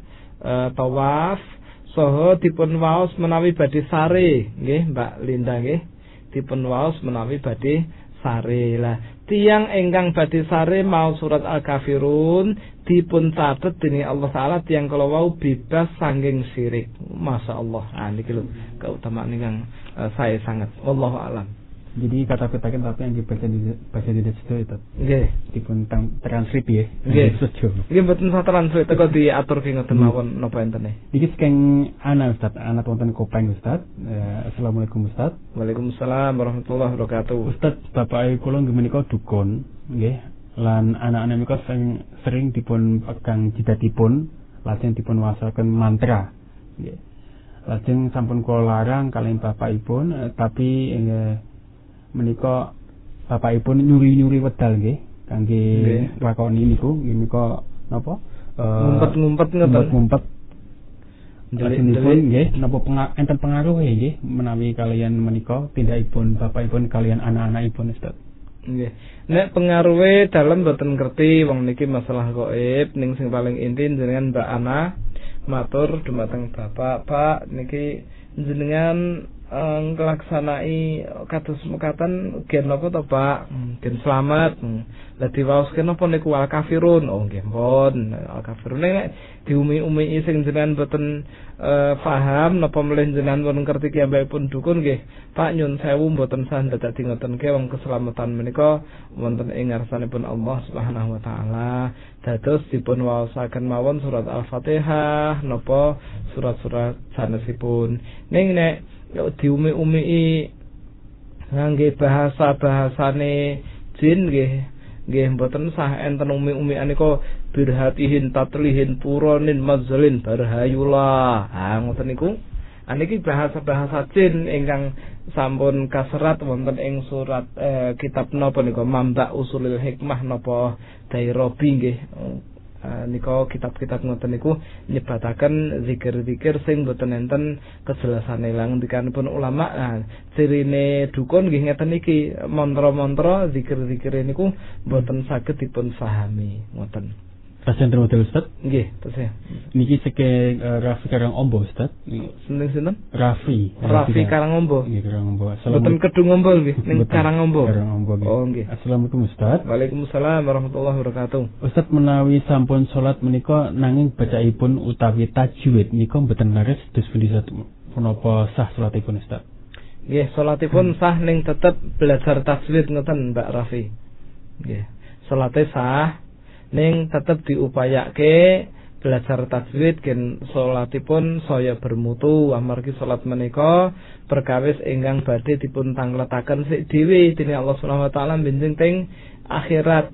tawaf, saha dipun waos menawi badhe sare nggih Mbak Linda nggih, dipun waos menawi badhe sare. Lah tiyang ingkang badhe sare mau surat Al-Kafirun dipun catet dening Allah taala tiyang kala wau bebas saking syirik. Masyaallah. Niki lho keutamaan ingkang saya sangat. Wallahu alam. Jadi kata-katakan tapi yang dibaca di situ itu. Nggih. Dipun translate ya. Nggih. Nggih mboten sah translate teko diatur ki ngoten mawon napa entene. Iki saking ana Ustaz, ana wonten Kopeng Ustaz. Assalamualaikum Ustaz. Waalaikumsalam warahmatullahi wabarakatuh. Ustaz, bapak kula nggih menika dukun, nggih. Lan anak-anak menika sering dipun pegang jidatipun, lajeng dipun waosaken mantra. Nggih. Lajeng sampun kula larang kaliyan bapakipun, tapi menika bapakipun nyuri-nyuri wedal nggih kangge lakoni niku menika napa ngumpet-ngumpet ngoten ngumpet ndelipun nggih napa enten pengaruh nggih menawi kalian menika tindakipun bapakipun kalian anak-anakipun Ustaz. Nggih. Nek pengaruhe dalem mboten ngerti wong niki masalah gaib ning sing paling inti jenengan Mbak Ana matur dumateng Bapak, Pak niki jenengan nglaksanai kados mekaten gen napa to Pak? Gen slamet. Lah diwaoske napa niku Al-Kafirun? Oh nggih pun Al-Kafirun nek diumi-umi sing jenengan boten paham napa mleh jenengan pun ngerti kiyambakipun dukun nggih. Pak nyun sewu mboten sah dadi ngoten ke wong keselamatan menika wonten ing ngarsanipun Allah Subhanahu wa taala. Dados dipun waosaken mawon surat Al-Fatihah napa surat-surat sanesipun. Ning nek diumi-umi ngangge bahasane jin nggih mboten sah enten umi-umi anika birhatihin tatlihin puronin mazalin barhayula. Ngoten niku. Niki bahasa jin ingkang sampun kaserat wonten ing surat kitab napa nika Mamba Usulil Hikmah napa Dairobi nggih. Nika kitab-kitab ngoten niku nyebataken zikir-zikir sing boten enten kejelasane lang dikanipun ulama. Cirine dukun nggih ngeten iki, mantra-mantra zikir-zikir niku boten saged dipun pahami ngoten. Pasien terus Ustaz? Nggih, terus. Niki saking Raffi Karangombo Ustaz. Sinten? Raffi Karangombo. Nggih Karangombo. Boten Kedungombo nggih, ning Karangombo. Nggih. Oh nggih. Assalamualaikum Ustaz. Waalaikumsalam warahmatullahi wabarakatuh. Ustaz menawi sampun salat menika nanging bacaipun utawi tajwid nika mboten laris dos pundi punapa sah salatipun Ustaz? Nggih, salatipun sah ning tetep belajar tajwid ngoten Mbak Raffi. Nggih. Salate sah ning tetep diupayake belajar tajwid gen salatipun saya bermutu amargi salat menika perkawis ingkang badhe dipun tangletaken sik dhewe dening Allah Subhanahu wa taala benjing teng akhirat.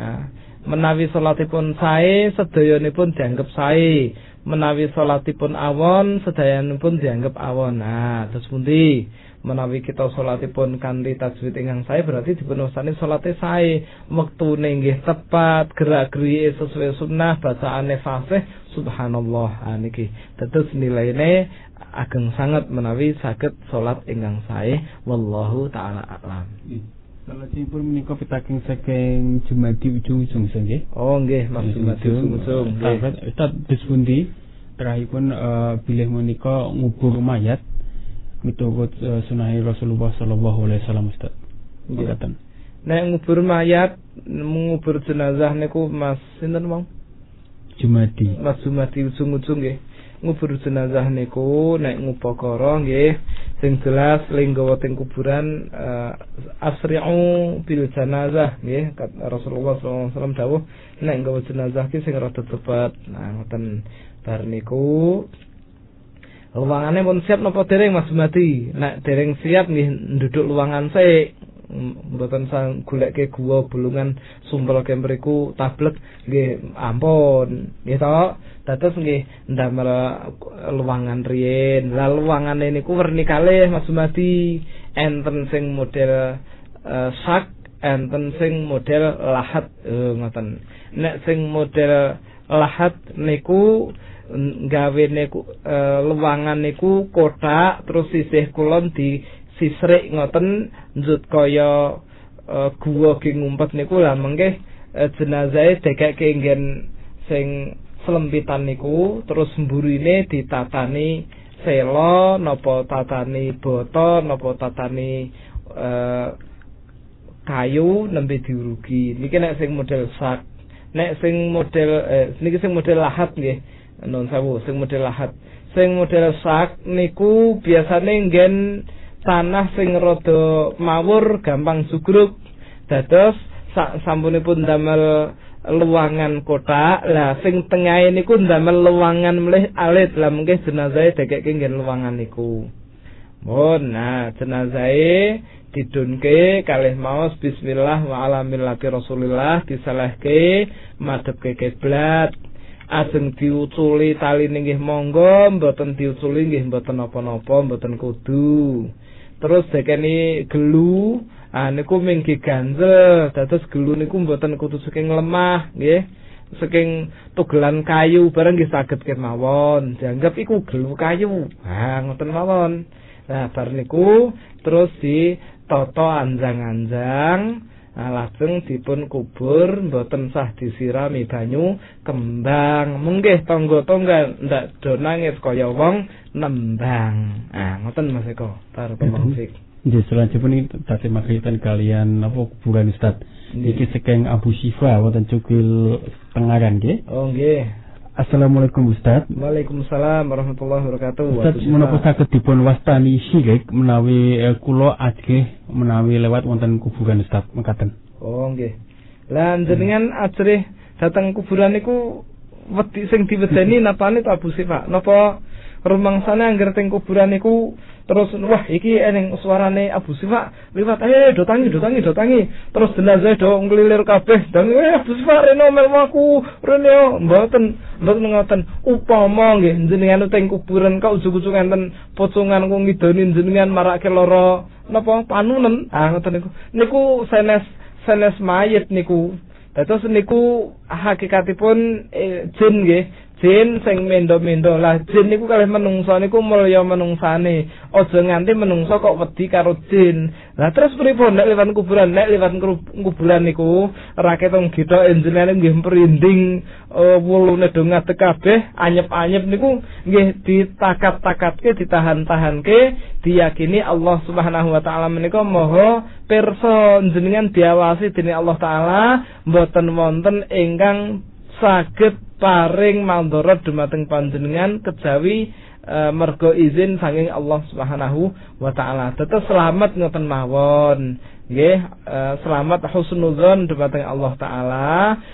Menawi salatipun sae sedayanipun dianggep sae, menawi salatipun awon sedayanipun dianggep awon. Terus pundi? Menawi kita salatipun kanthi tajwid ingkang sae berarti dipun wasani salate sae, wektune nggih tepat, gerak-gerike sesuai sunnah, bacaane fasih, subhanallah. Niki dados nilaine ageng sanget menawi saged salat ingkang sae, wallahu taala a'lam. Salajengipun menika pitaking saking Jumadi ujung-ujung nggih. Oh nggih, Mas Jumadi ujung-ujung. Ustaz dispundi terakhiripun bilih menika ngubur mayat miturut sunah Rasulullah sallallahu alaihi wasallam Ustaz. Nggih. Nek ngubur mayat, ngubur jenazah niku Mas sinten wong? Jumadi. Mas Jumadi ujung-ujung nggih. Ngubur jenazah niku nek ngupakara nggih sing jelas linggawa teng kuburan asri'u bil janazah nggih Rasulullah sallallahu alaihi wasallam dawuh nek nggawa jenazah ki sing rada cepet. Ngoten bar niku luwangane pun siap napa dereng Mas Jumadi? Nek dereng siap nggih nduduk luwangan sik mboten sang goleke guwa bulungan sumpel kemriku tablek nggih ampun nggih to. Dados nggih ndamel luwangan riyin. Lah luwangane niku werni kalih Mas Sumadi, enten sing model sak, enten sing model lahat ngoten. Nek sing model lahat niku gawe niku luwangan niku kotak terus sisih kulon di sisrik ngoten njut kaya guwa ki ngumpet niku lah mengke jenazahe dekake nggen sing selempitan niku terus mburine ditatani selo napa tatani boto napa tatani kayu nembe diurugi. Niki nek sing model sak. Nek sing model niki sing model lahat nggih. Nun sawu sing model lahat. Sing model sak niku biasane nggen tanah sing rada mawur gampang sugruk. Dados sampunipun damel luwangan kotak, lah sing tengahe niku ndamel luwangan mlih alit, lah mengke jenazahe dekeke nggen luwangan niku. Mun nah jenazahe didunke kalih maos bismillah wa ala millati Rasulillah disalehke madhepke kiblat. Ajeng diuculi taline nggih monggo, mboten diuculi nggih mboten napa-napa, mboten kudu. Terus dekeni gelu niku minggi ganjel, dados gelu niku mboten kudu saking lemah nggih, saking tugelan kayu bareng nggih saged kemawon, dianggap iku gelu kayu. Ngoten mawon. Nah bar niku terus ditata anjang-anjang, lajeng dipun kubur mboten sah disirami banyu kembang. Munggih tangga-tangga ndak do nangis kaya wong nembang. Ngoten Mas Eko. Barakallahu Nggih, selanjutipun iki tadi makritan kalian apa kuburan Ustaz. Iki saking Abu Syifa wonten Cukil Tengaran nggih. Oh nggih. Assalamualaikum Ustaz. Waalaikumsalam warahmatullahi wabarakatuh. Ustaz menapa saged dipun wastani syirik menawi kula ajih menawi lewat wonten kuburan Ustaz mekaten. Oh nggih. Lah jenengan ajrih dateng kuburan niku wedi sing diwedeni napane to Abu Syifa? Napa rumangsane angger teng kuburan niku terus wah iki eneng suarane Abu Syifa liwat do tangi terus jenazah do nglilir kabeh dan Abu Syifa rene melwaku rene mboten ngoten upama nggih jenengan teng kuburan kok ujug-ujug enten pocongan kok ngidoni jenengan marake lara napa panunen ngoten niku sanes mayit niku. Dados niku hakikatipun jin nggih. Jin sing mendo-mendo lah jin niku kalih menungsa niku mulya menungsane. Aja nganti menungsa kok wedi karo jin. Lah terus pripun nek liwat kuburan? Nek liwat kuburan niku raketong githok enjenane nggih merinding wulune do ngadeg kabeh, anyep-anyep niku nggih ditakat-takatke, ditahan-tahanke, diyakini Allah Subhanahu wa taala menika maha pirsa, jenengan diawasi dening Allah taala, mboten wonten ingkang saged paring mandharat dumateng panjenengan kejawi mergo izin saking Allah Subhanahu wa taala. Tetep selamat ngoten mawon. Nggih, selamat husnudzon dumateng Allah taala.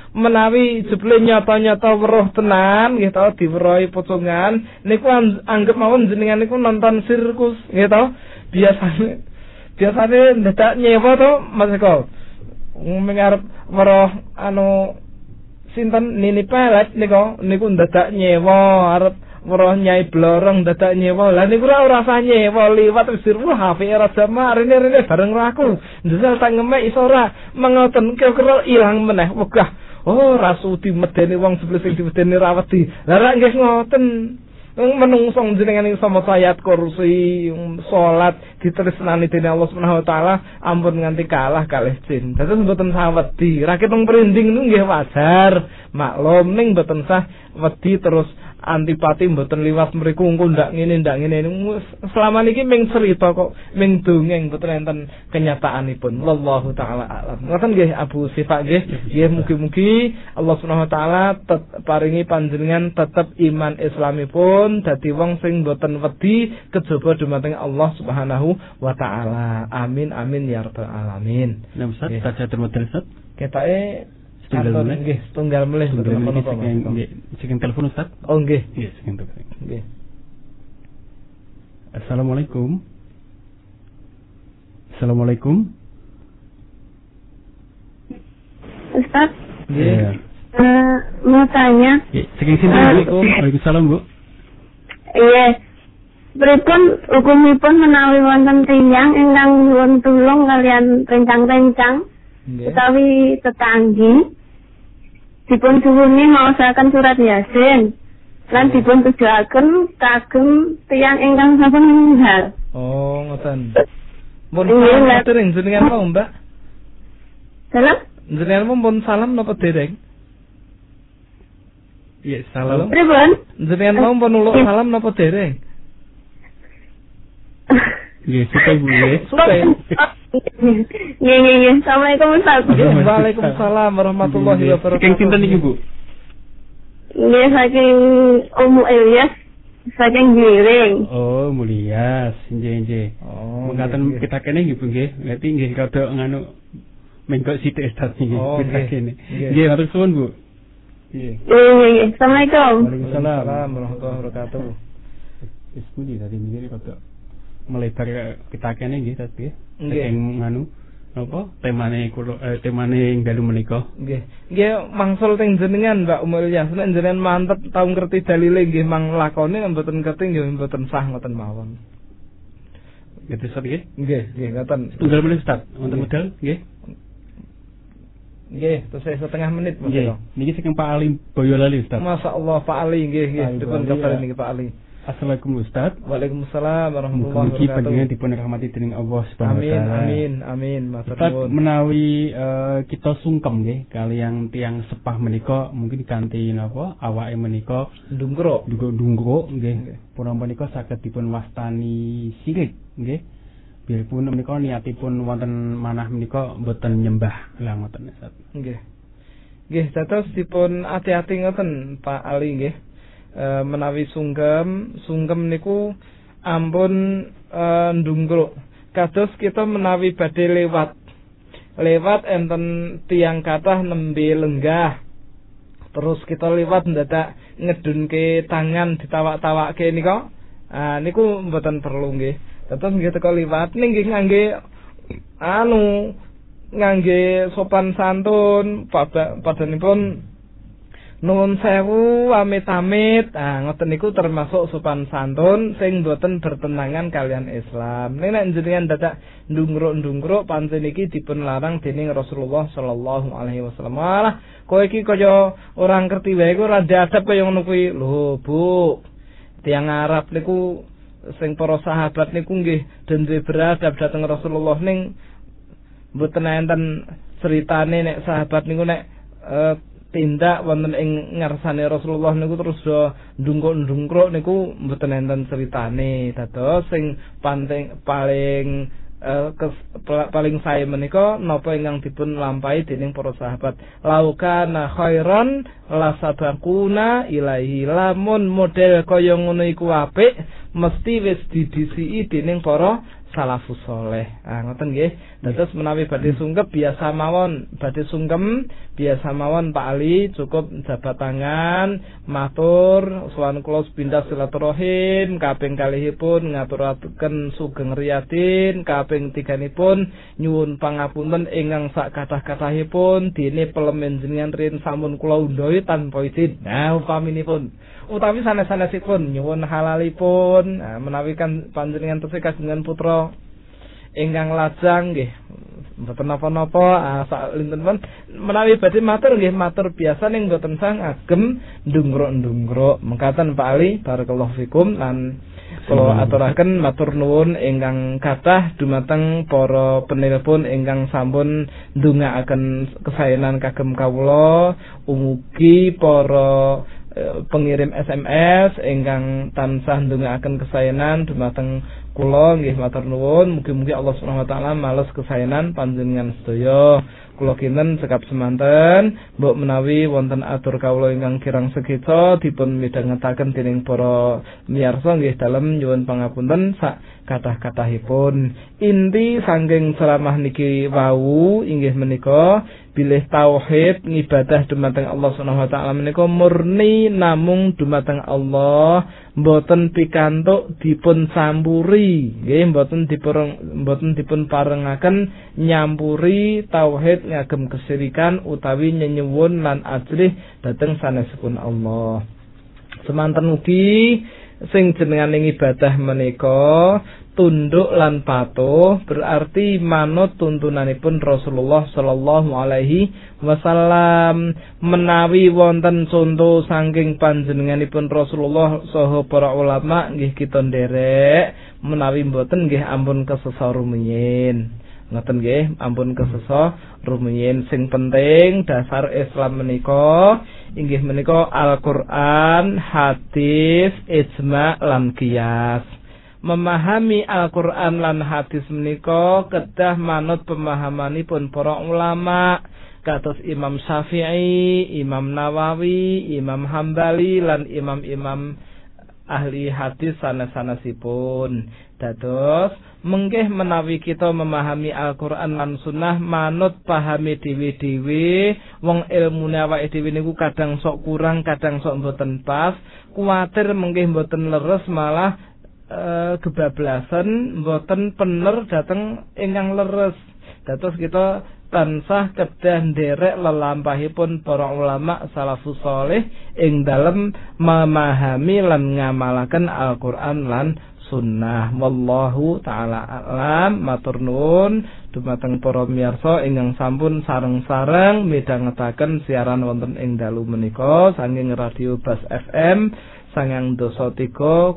Menawi jebule nyata-nyata weruh tenan nggih to diweruhi pocongan niku anggap mawon jenengan niku nonton sirkus nggih to. Biasane ndak nyewa to Mas Eko. Mengarep weruh sinten Nini Pelet niku ndadak nyewa arep weruh Nyai Blorong ndadak nyewa. Lah niku ora usah nyewa liwat wis HP Raja Marine bareng aku. Njajal tak ngemek iso ora mengoten kira-kira ilang meneh wegah. Oh rasudi medeni wong sebelah sing diwedeni ra wedi. Lah ra nggih ngoten. Menungso jenengan iso maca ayat kursi, salat ditresnani dening Allah Subhanahu wa taala, ampun nganti kalah kalih jin. Dados mboten sah wedi. Rakyat wong merinding niku nggih wajar, maklum ning mboten sah wedi terus antipati mboten liwat mriku engko ndak ngene. Selama niki ming cerita kok, ming dongeng mboten enten kenyataanipun. Wallahu taala alam. Ngoten nggih Abu Syifa nggih. Nggih mugi-mugi Allah Subhanahu wa taala paringi panjenengan tetep iman Islamipun dadi wong sing mboten wedi kejaba dumateng Allah Subhanahu wa taala. Amin amin ya rabbal alamin. Nah Ustaz, saja termodel Ustaz. Ketake setunggal melih saking telepon Ustaz. Oh nggih. Nggih, saking telepon. Nggih. Assalamualaikum. Assalamualaikum. Ustaz. Iya. Mau tanya. Saking sinten Bu? Waalaikumsalam Bu. Iya. Pripun hukumipun menawi wonten tiyang ingkang nyuwun tulung kalian rencang-rencang utawi tetanggi dipun suwuni maosaken surat Yasin lan dipun tujuaken kagem tiyang ingkang sampun meninggal. Oh, ngoten. Mun dereng jenengan mau, Mbak? Salam? Jenengan pun salam napa dereng? Iya, salam. Pripun? Jenengan mau pun nuluk salam napa dereng? Iya, suka Bu ya. Suka. Iya. Assalamualaikum Ustaz. Waalaikumsalam warahmatullahi wabarakatuh. Saking sinten niki Bu? Iya, saking Ummu Ilyas saking Giring. Oh, Mulyas, nggih. Oh, mengatakan kita kene nggih Bu nggih. Berarti nggih rada nganu menggok sithik Ustaz niki. Kita kene. Nggih, matur suwun Bu. Iya. Assalamualaikum. Waalaikumsalam warahmatullahi wabarakatuh. Wis pundi tadi mikir rada melebar kita kene nggih tadi. Nggih. Nganu apa temane temane dalu menika. Nggih mangsul teng jenengan Mbak Umul Yas nek jenengan mantep tau ngerti dalile nggih mang lakone mboten ngerti nggih mboten sah ngoten mawon. Gitu Ustaz nggih? Nggih ngoten. Tunggal menit Ustaz, wonten medal nggih. Nggih, terus setengah menit nggih. Niki saking Pak Ali Boyolali Ustaz. Masyaallah Pak Ali nggih dipun kabar niki Pak Ali. Assalamualaikum Ustaz. Waalaikumsalam warahmatullahi wabarakatuh. Mugi panjenengan dipun rahmati dening Allah Subhanahu wa taala. Amin. Matur nuwun. Menawi kita sungkem nggih kaliyan tiyang sepah menika mungkin kanthi napa awake menika ndungkruk nggih. Pun menika saged dipun wastani sirik nggih. Biarpun menika niatipun wonten manah menika mboten nyembah lah ngoten Ustaz. Nggih. Nggih, dados dipun ati-ati ngoten Pak Ali nggih. Menawi sungkem niku ampun ndungkruk. Kados kita menawi badhe lewat enten tiang kathah nembe lenggah. Terus kita lewat ndadak ngedunke tangan ditawak-tawakke nika. Niku mboten perlu nggih. Dados nggih teko liwat nggih ngangge sopan santun padanipun nuwun sewu amit-amit. Ngoten niku termasuk sopan santun sing boten bertentangan kalian Islam. Nek jenengan dadak ndungkruk pancen iki dipun larang dening Rasulullah sallallahu alaihi wasallam. Malah kowe iki kaya ora ngerti wae kok ora adab kaya ngono kuwi. Lho, Bu. Tiang Arab niku sing para sahabat niku nggih den duwe beradab dhateng Rasulullah ning mboten enten critane nek sahabat niku nek tindak wonten ing ngarsane Rasulullah niku terus do ndungkruk niku mboten enten critane. Dados sing paling sae menika napa ingkang dipun lampahi dening para sahabat. Laukana khairan la sabaquna ilaihi. Lamun model kaya ngono iku apik mesti wis didhisiki dening para salafus saleh. Ngoten nggih. Dados menawi badhe sungkem biasa mawon Pak Ali cukup jabat tangan matur sowan kula sepindah silaturahim, kaping kalihipun ngaturaken sugeng riyadin, kaping tiganipun nyuwun pangapunten ingkang sak kathah-kathahipun dene pelemen jenengan rin sampun kula undhahi tanpa izin. Upaminipun utawi sanes-sanesipun nyuwun halalipun menawi kan panjenengan tesih kagungan putra ingkang lajang nggih mboten napa-napa sak linten menawi badhe matur nggih matur biasa ning mboten sang agem ndungkruk mengkaten Pak Ali barakallahu fikum lan kula aturaken matur nuwun ingkang kathah dumateng para penelpon ingkang sampun ndongaaken kesaenan kagem kawula umugi para pengirim SMS ingkang tansah ndongaaken kesaenan dumateng kula nggih matur nuwun mugi-mugi Allah Subhanahu wa taala males kesaenan panjenengan sedaya. Kula kinten cekap semanten mbok menawi wonten atur kawula ingkang kirang sekeca dipun midhangetaken dening para miyarsa nggih dalem nyuwun pangapunten sak kathah-kathahipun. Inti saking ceramah niki wau inggih menika bilih tauhid ngibadah dumateng Allah Subhanahu wa taala menika murni namung dumateng Allah, mboten pikantuk dipun sampuri menawi nggih mboten dipun parengaken nyampuri tauhid ngagem kesyirikan utawi nyenyuwun lan ajrih dhateng sanesipun Allah. Semanten ugi sing jenenganing ibadah menika tunduk lan patuh berarti manut tuntunanipun Rasulullah sallallahu alaihi wasallam. Menawi wonten contoh saking panjenenganipun Rasulullah saha para ulama nggih kita nderek, menawi mboten nggih ampun kesesa rumiyin. Ngoten nggih, ampun kesesa rumiyin. Sing penting dasar Islam menika inggih menika Al-Qur'an, hadis, ijma' lan qiyas. Memahami Al-Qur'an lan hadis menika kedah manut pemahamanipun para ulama kados Imam Syafi'i, Imam Nawawi, Imam Hambali lan imam-imam ahli hadis sanes-sanesipun. Dados menggih menawi kita memahami Al-Qur'an lan sunnah manut pahami dhewe-dhewe, wong ilmune awake dhewe niku kadang sok kurang, kadang sok mboten pas, kuwatir menggih mboten leres malah kebablasan mboten pener dhateng ingkang leres. Dados kita tansah kedah nderek lelampahipun para ulama salafus saleh ing dalem memahami lan ngamalaken Al-Qur'an lan sunnah. Wallahu taala alam. Matur nuwun dumateng para miyarsa ingkang sampun sareng-sareng midhangetaken siaran wonten ing dalu menika saking Radio Bas FM 93,0.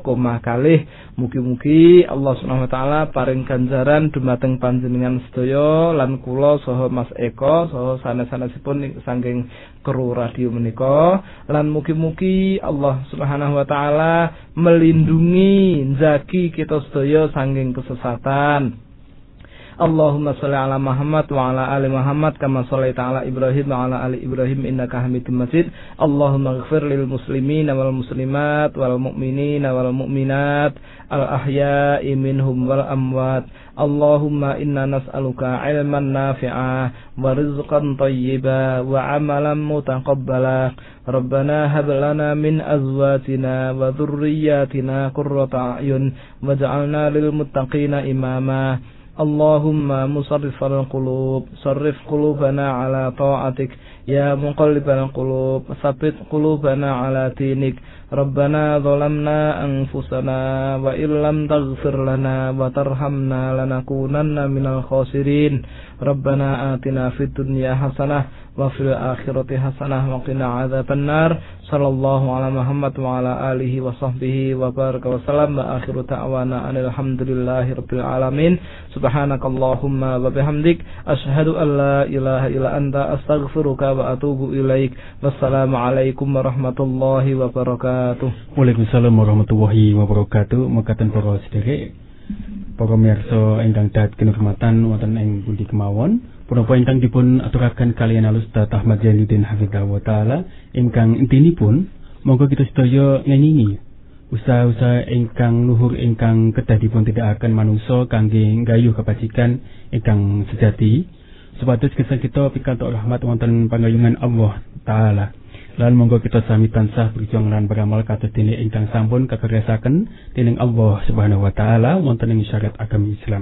Mugi-mugi Allah Subhanahu wa taala paring ganjaran dumateng panjenengan sedaya lan kula saha Mas Eko saha sanes-sanesipun saking kru radio menika, lan mugi-mugi Allah Subhanahu wa taala melindungi njagi kita sedaya saking kesesatan. Allahumma sholli ala Muhammad wa ala ali Muhammad kama shallaita ala Ibrahim wa ala ali Ibrahim innaka Hamidum Majid. Allahumma ighfir lil muslimina wal muslimat wal mu'minina wal mu'minat al ahya'i minhum wal amwat. Allahumma inna nas'aluka ilman nafi'a wa rizqan thayyiba wa amalan mutaqabbala. Rabbana hab lana min azwajina wa dhurriyyatina qurrata a'yun waj'alna lil muttaqina imama. Allahumma musarrifal qulub sarrif qulubana ala ta'atik ya muqallibal qulub tsabbit qulubana ala dinik. Rabbana zalamna anfusana wa illam taghfir lana wa tarhamna lanakunanna minal khasirin. Rabbana atina fid dunya hasanah wa fil akhirati hasanah wa qina adzabannar. Sallallahu ala Muhammad wa ala alihi wa sahbihi wa baraka wa salam wa akhiru ta'wana alhamdulillahi rabbil alamin. Subhanakallahumma wa bihamdik asyhadu an la ilaha illa anta astaghfiruka wa atubu ilaik. Wassalamu alaikum warahmatullahi wabarakatuh. Waalaikumsalam warahmatullahi wabarakatuh. Mekaten para sedherek, para miyarsa ingkang dahat kinurmatan wonten ing pundi kemawon, punapa ingkang dipun aturaken kaliyan Ustaz Ahmad Zainuddin hafizahullah taala ingkang intinipun monggo kita sedaya ngengingi usaha-usaha ingkang luhur ingkang kedah dipun tindakaken manungsa kangge nggayuh kebajikan ingkang sejati supados gesang kita pikantuk rahmat wonten pangayungan Allah taala. Lan monggo kita sami tansah berjuang lan beramal kados dene ingkang sampun kakersaken dening Allah Subhanahu wa taala wonten ing syariat agama Islam.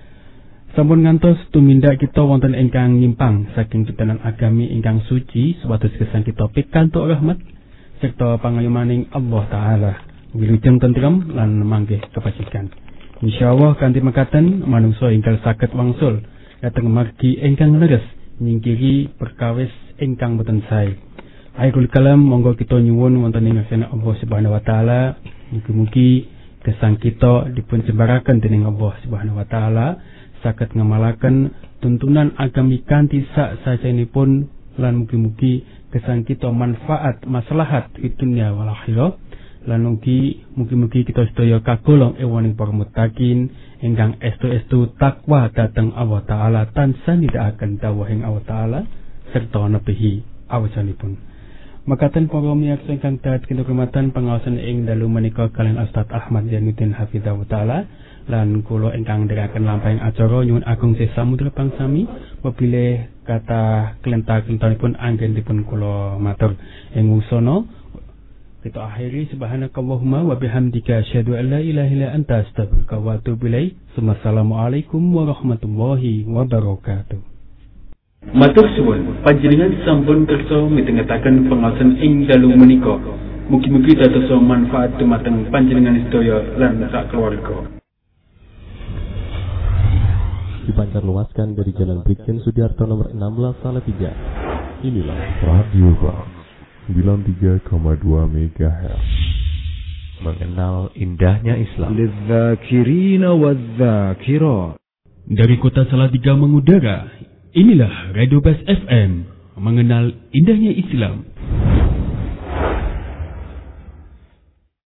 Sampun ngantos tumindak kita wonten ingkang nyimpang saking pitanan agami ingkang suci supados gesang kita pikantuk rahmat serta pangayumaning Allah taala wilujeng tentrem lan manggih kebajikan. Insyaallah kanthi mekaten manungsa ingkang saged wangsul dhateng margi ingkang leres nyingkiri perkawis ingkang boten sae. Akhirul kalam monggo kita nyuwun wonten ing ngarsa Allah Subhanahu wa taala mugi-mugi gesang kita dipun jembaraken dening Allah Subhanahu wa taala saged ngamalaken tuntunan agami kanthi sak sajenipun lan mugi-mugi gesang kita manfaat maslahat di dunia wal akhirah lan mugi-mugi kita sedaya kagolong ewaning para muttaqin ingkang estu-estu takwa dhateng Allah taala tansah nindakaken dawuhing Allah taala serta nebihi awasanipun. Makaten para miyarsa ingkang dahat kinurmatan pangaosan ing dalu menika kaliyan Ustaz Ahmad Zainuddin hafizahullah taala lan kula ingkang ndherekaken lampahing acara nyuwun agung sesamudra pangsami wabile kata kelentar-kelentaripun anggen dipun kula matur ing usana Kita akhiri subhanakallahumma wa bihamdika asyhadu an la ilaha illa anta astaghfiruka wa atubu ilaik. Assalamualaikum warahmatullahi wabarakatuh. Matur suwun, panjenengan sampun kersa mitengetaken pengaosan ing dalu menika. Mugi-mugi dados manfaat dumateng panjenengan sedaya lan sak keluarga. Dipancar luaskan dari Jalan Brigjen Sudiarto nomor 16 Salatiga. Inilah Radio Bang 93,2 MHz. Mengenal indahnya Islam. Lidzakirina wadzakirat. Dari kota Salatiga mengudara, inilah Radio Bas FM, mengenal indahnya Islam.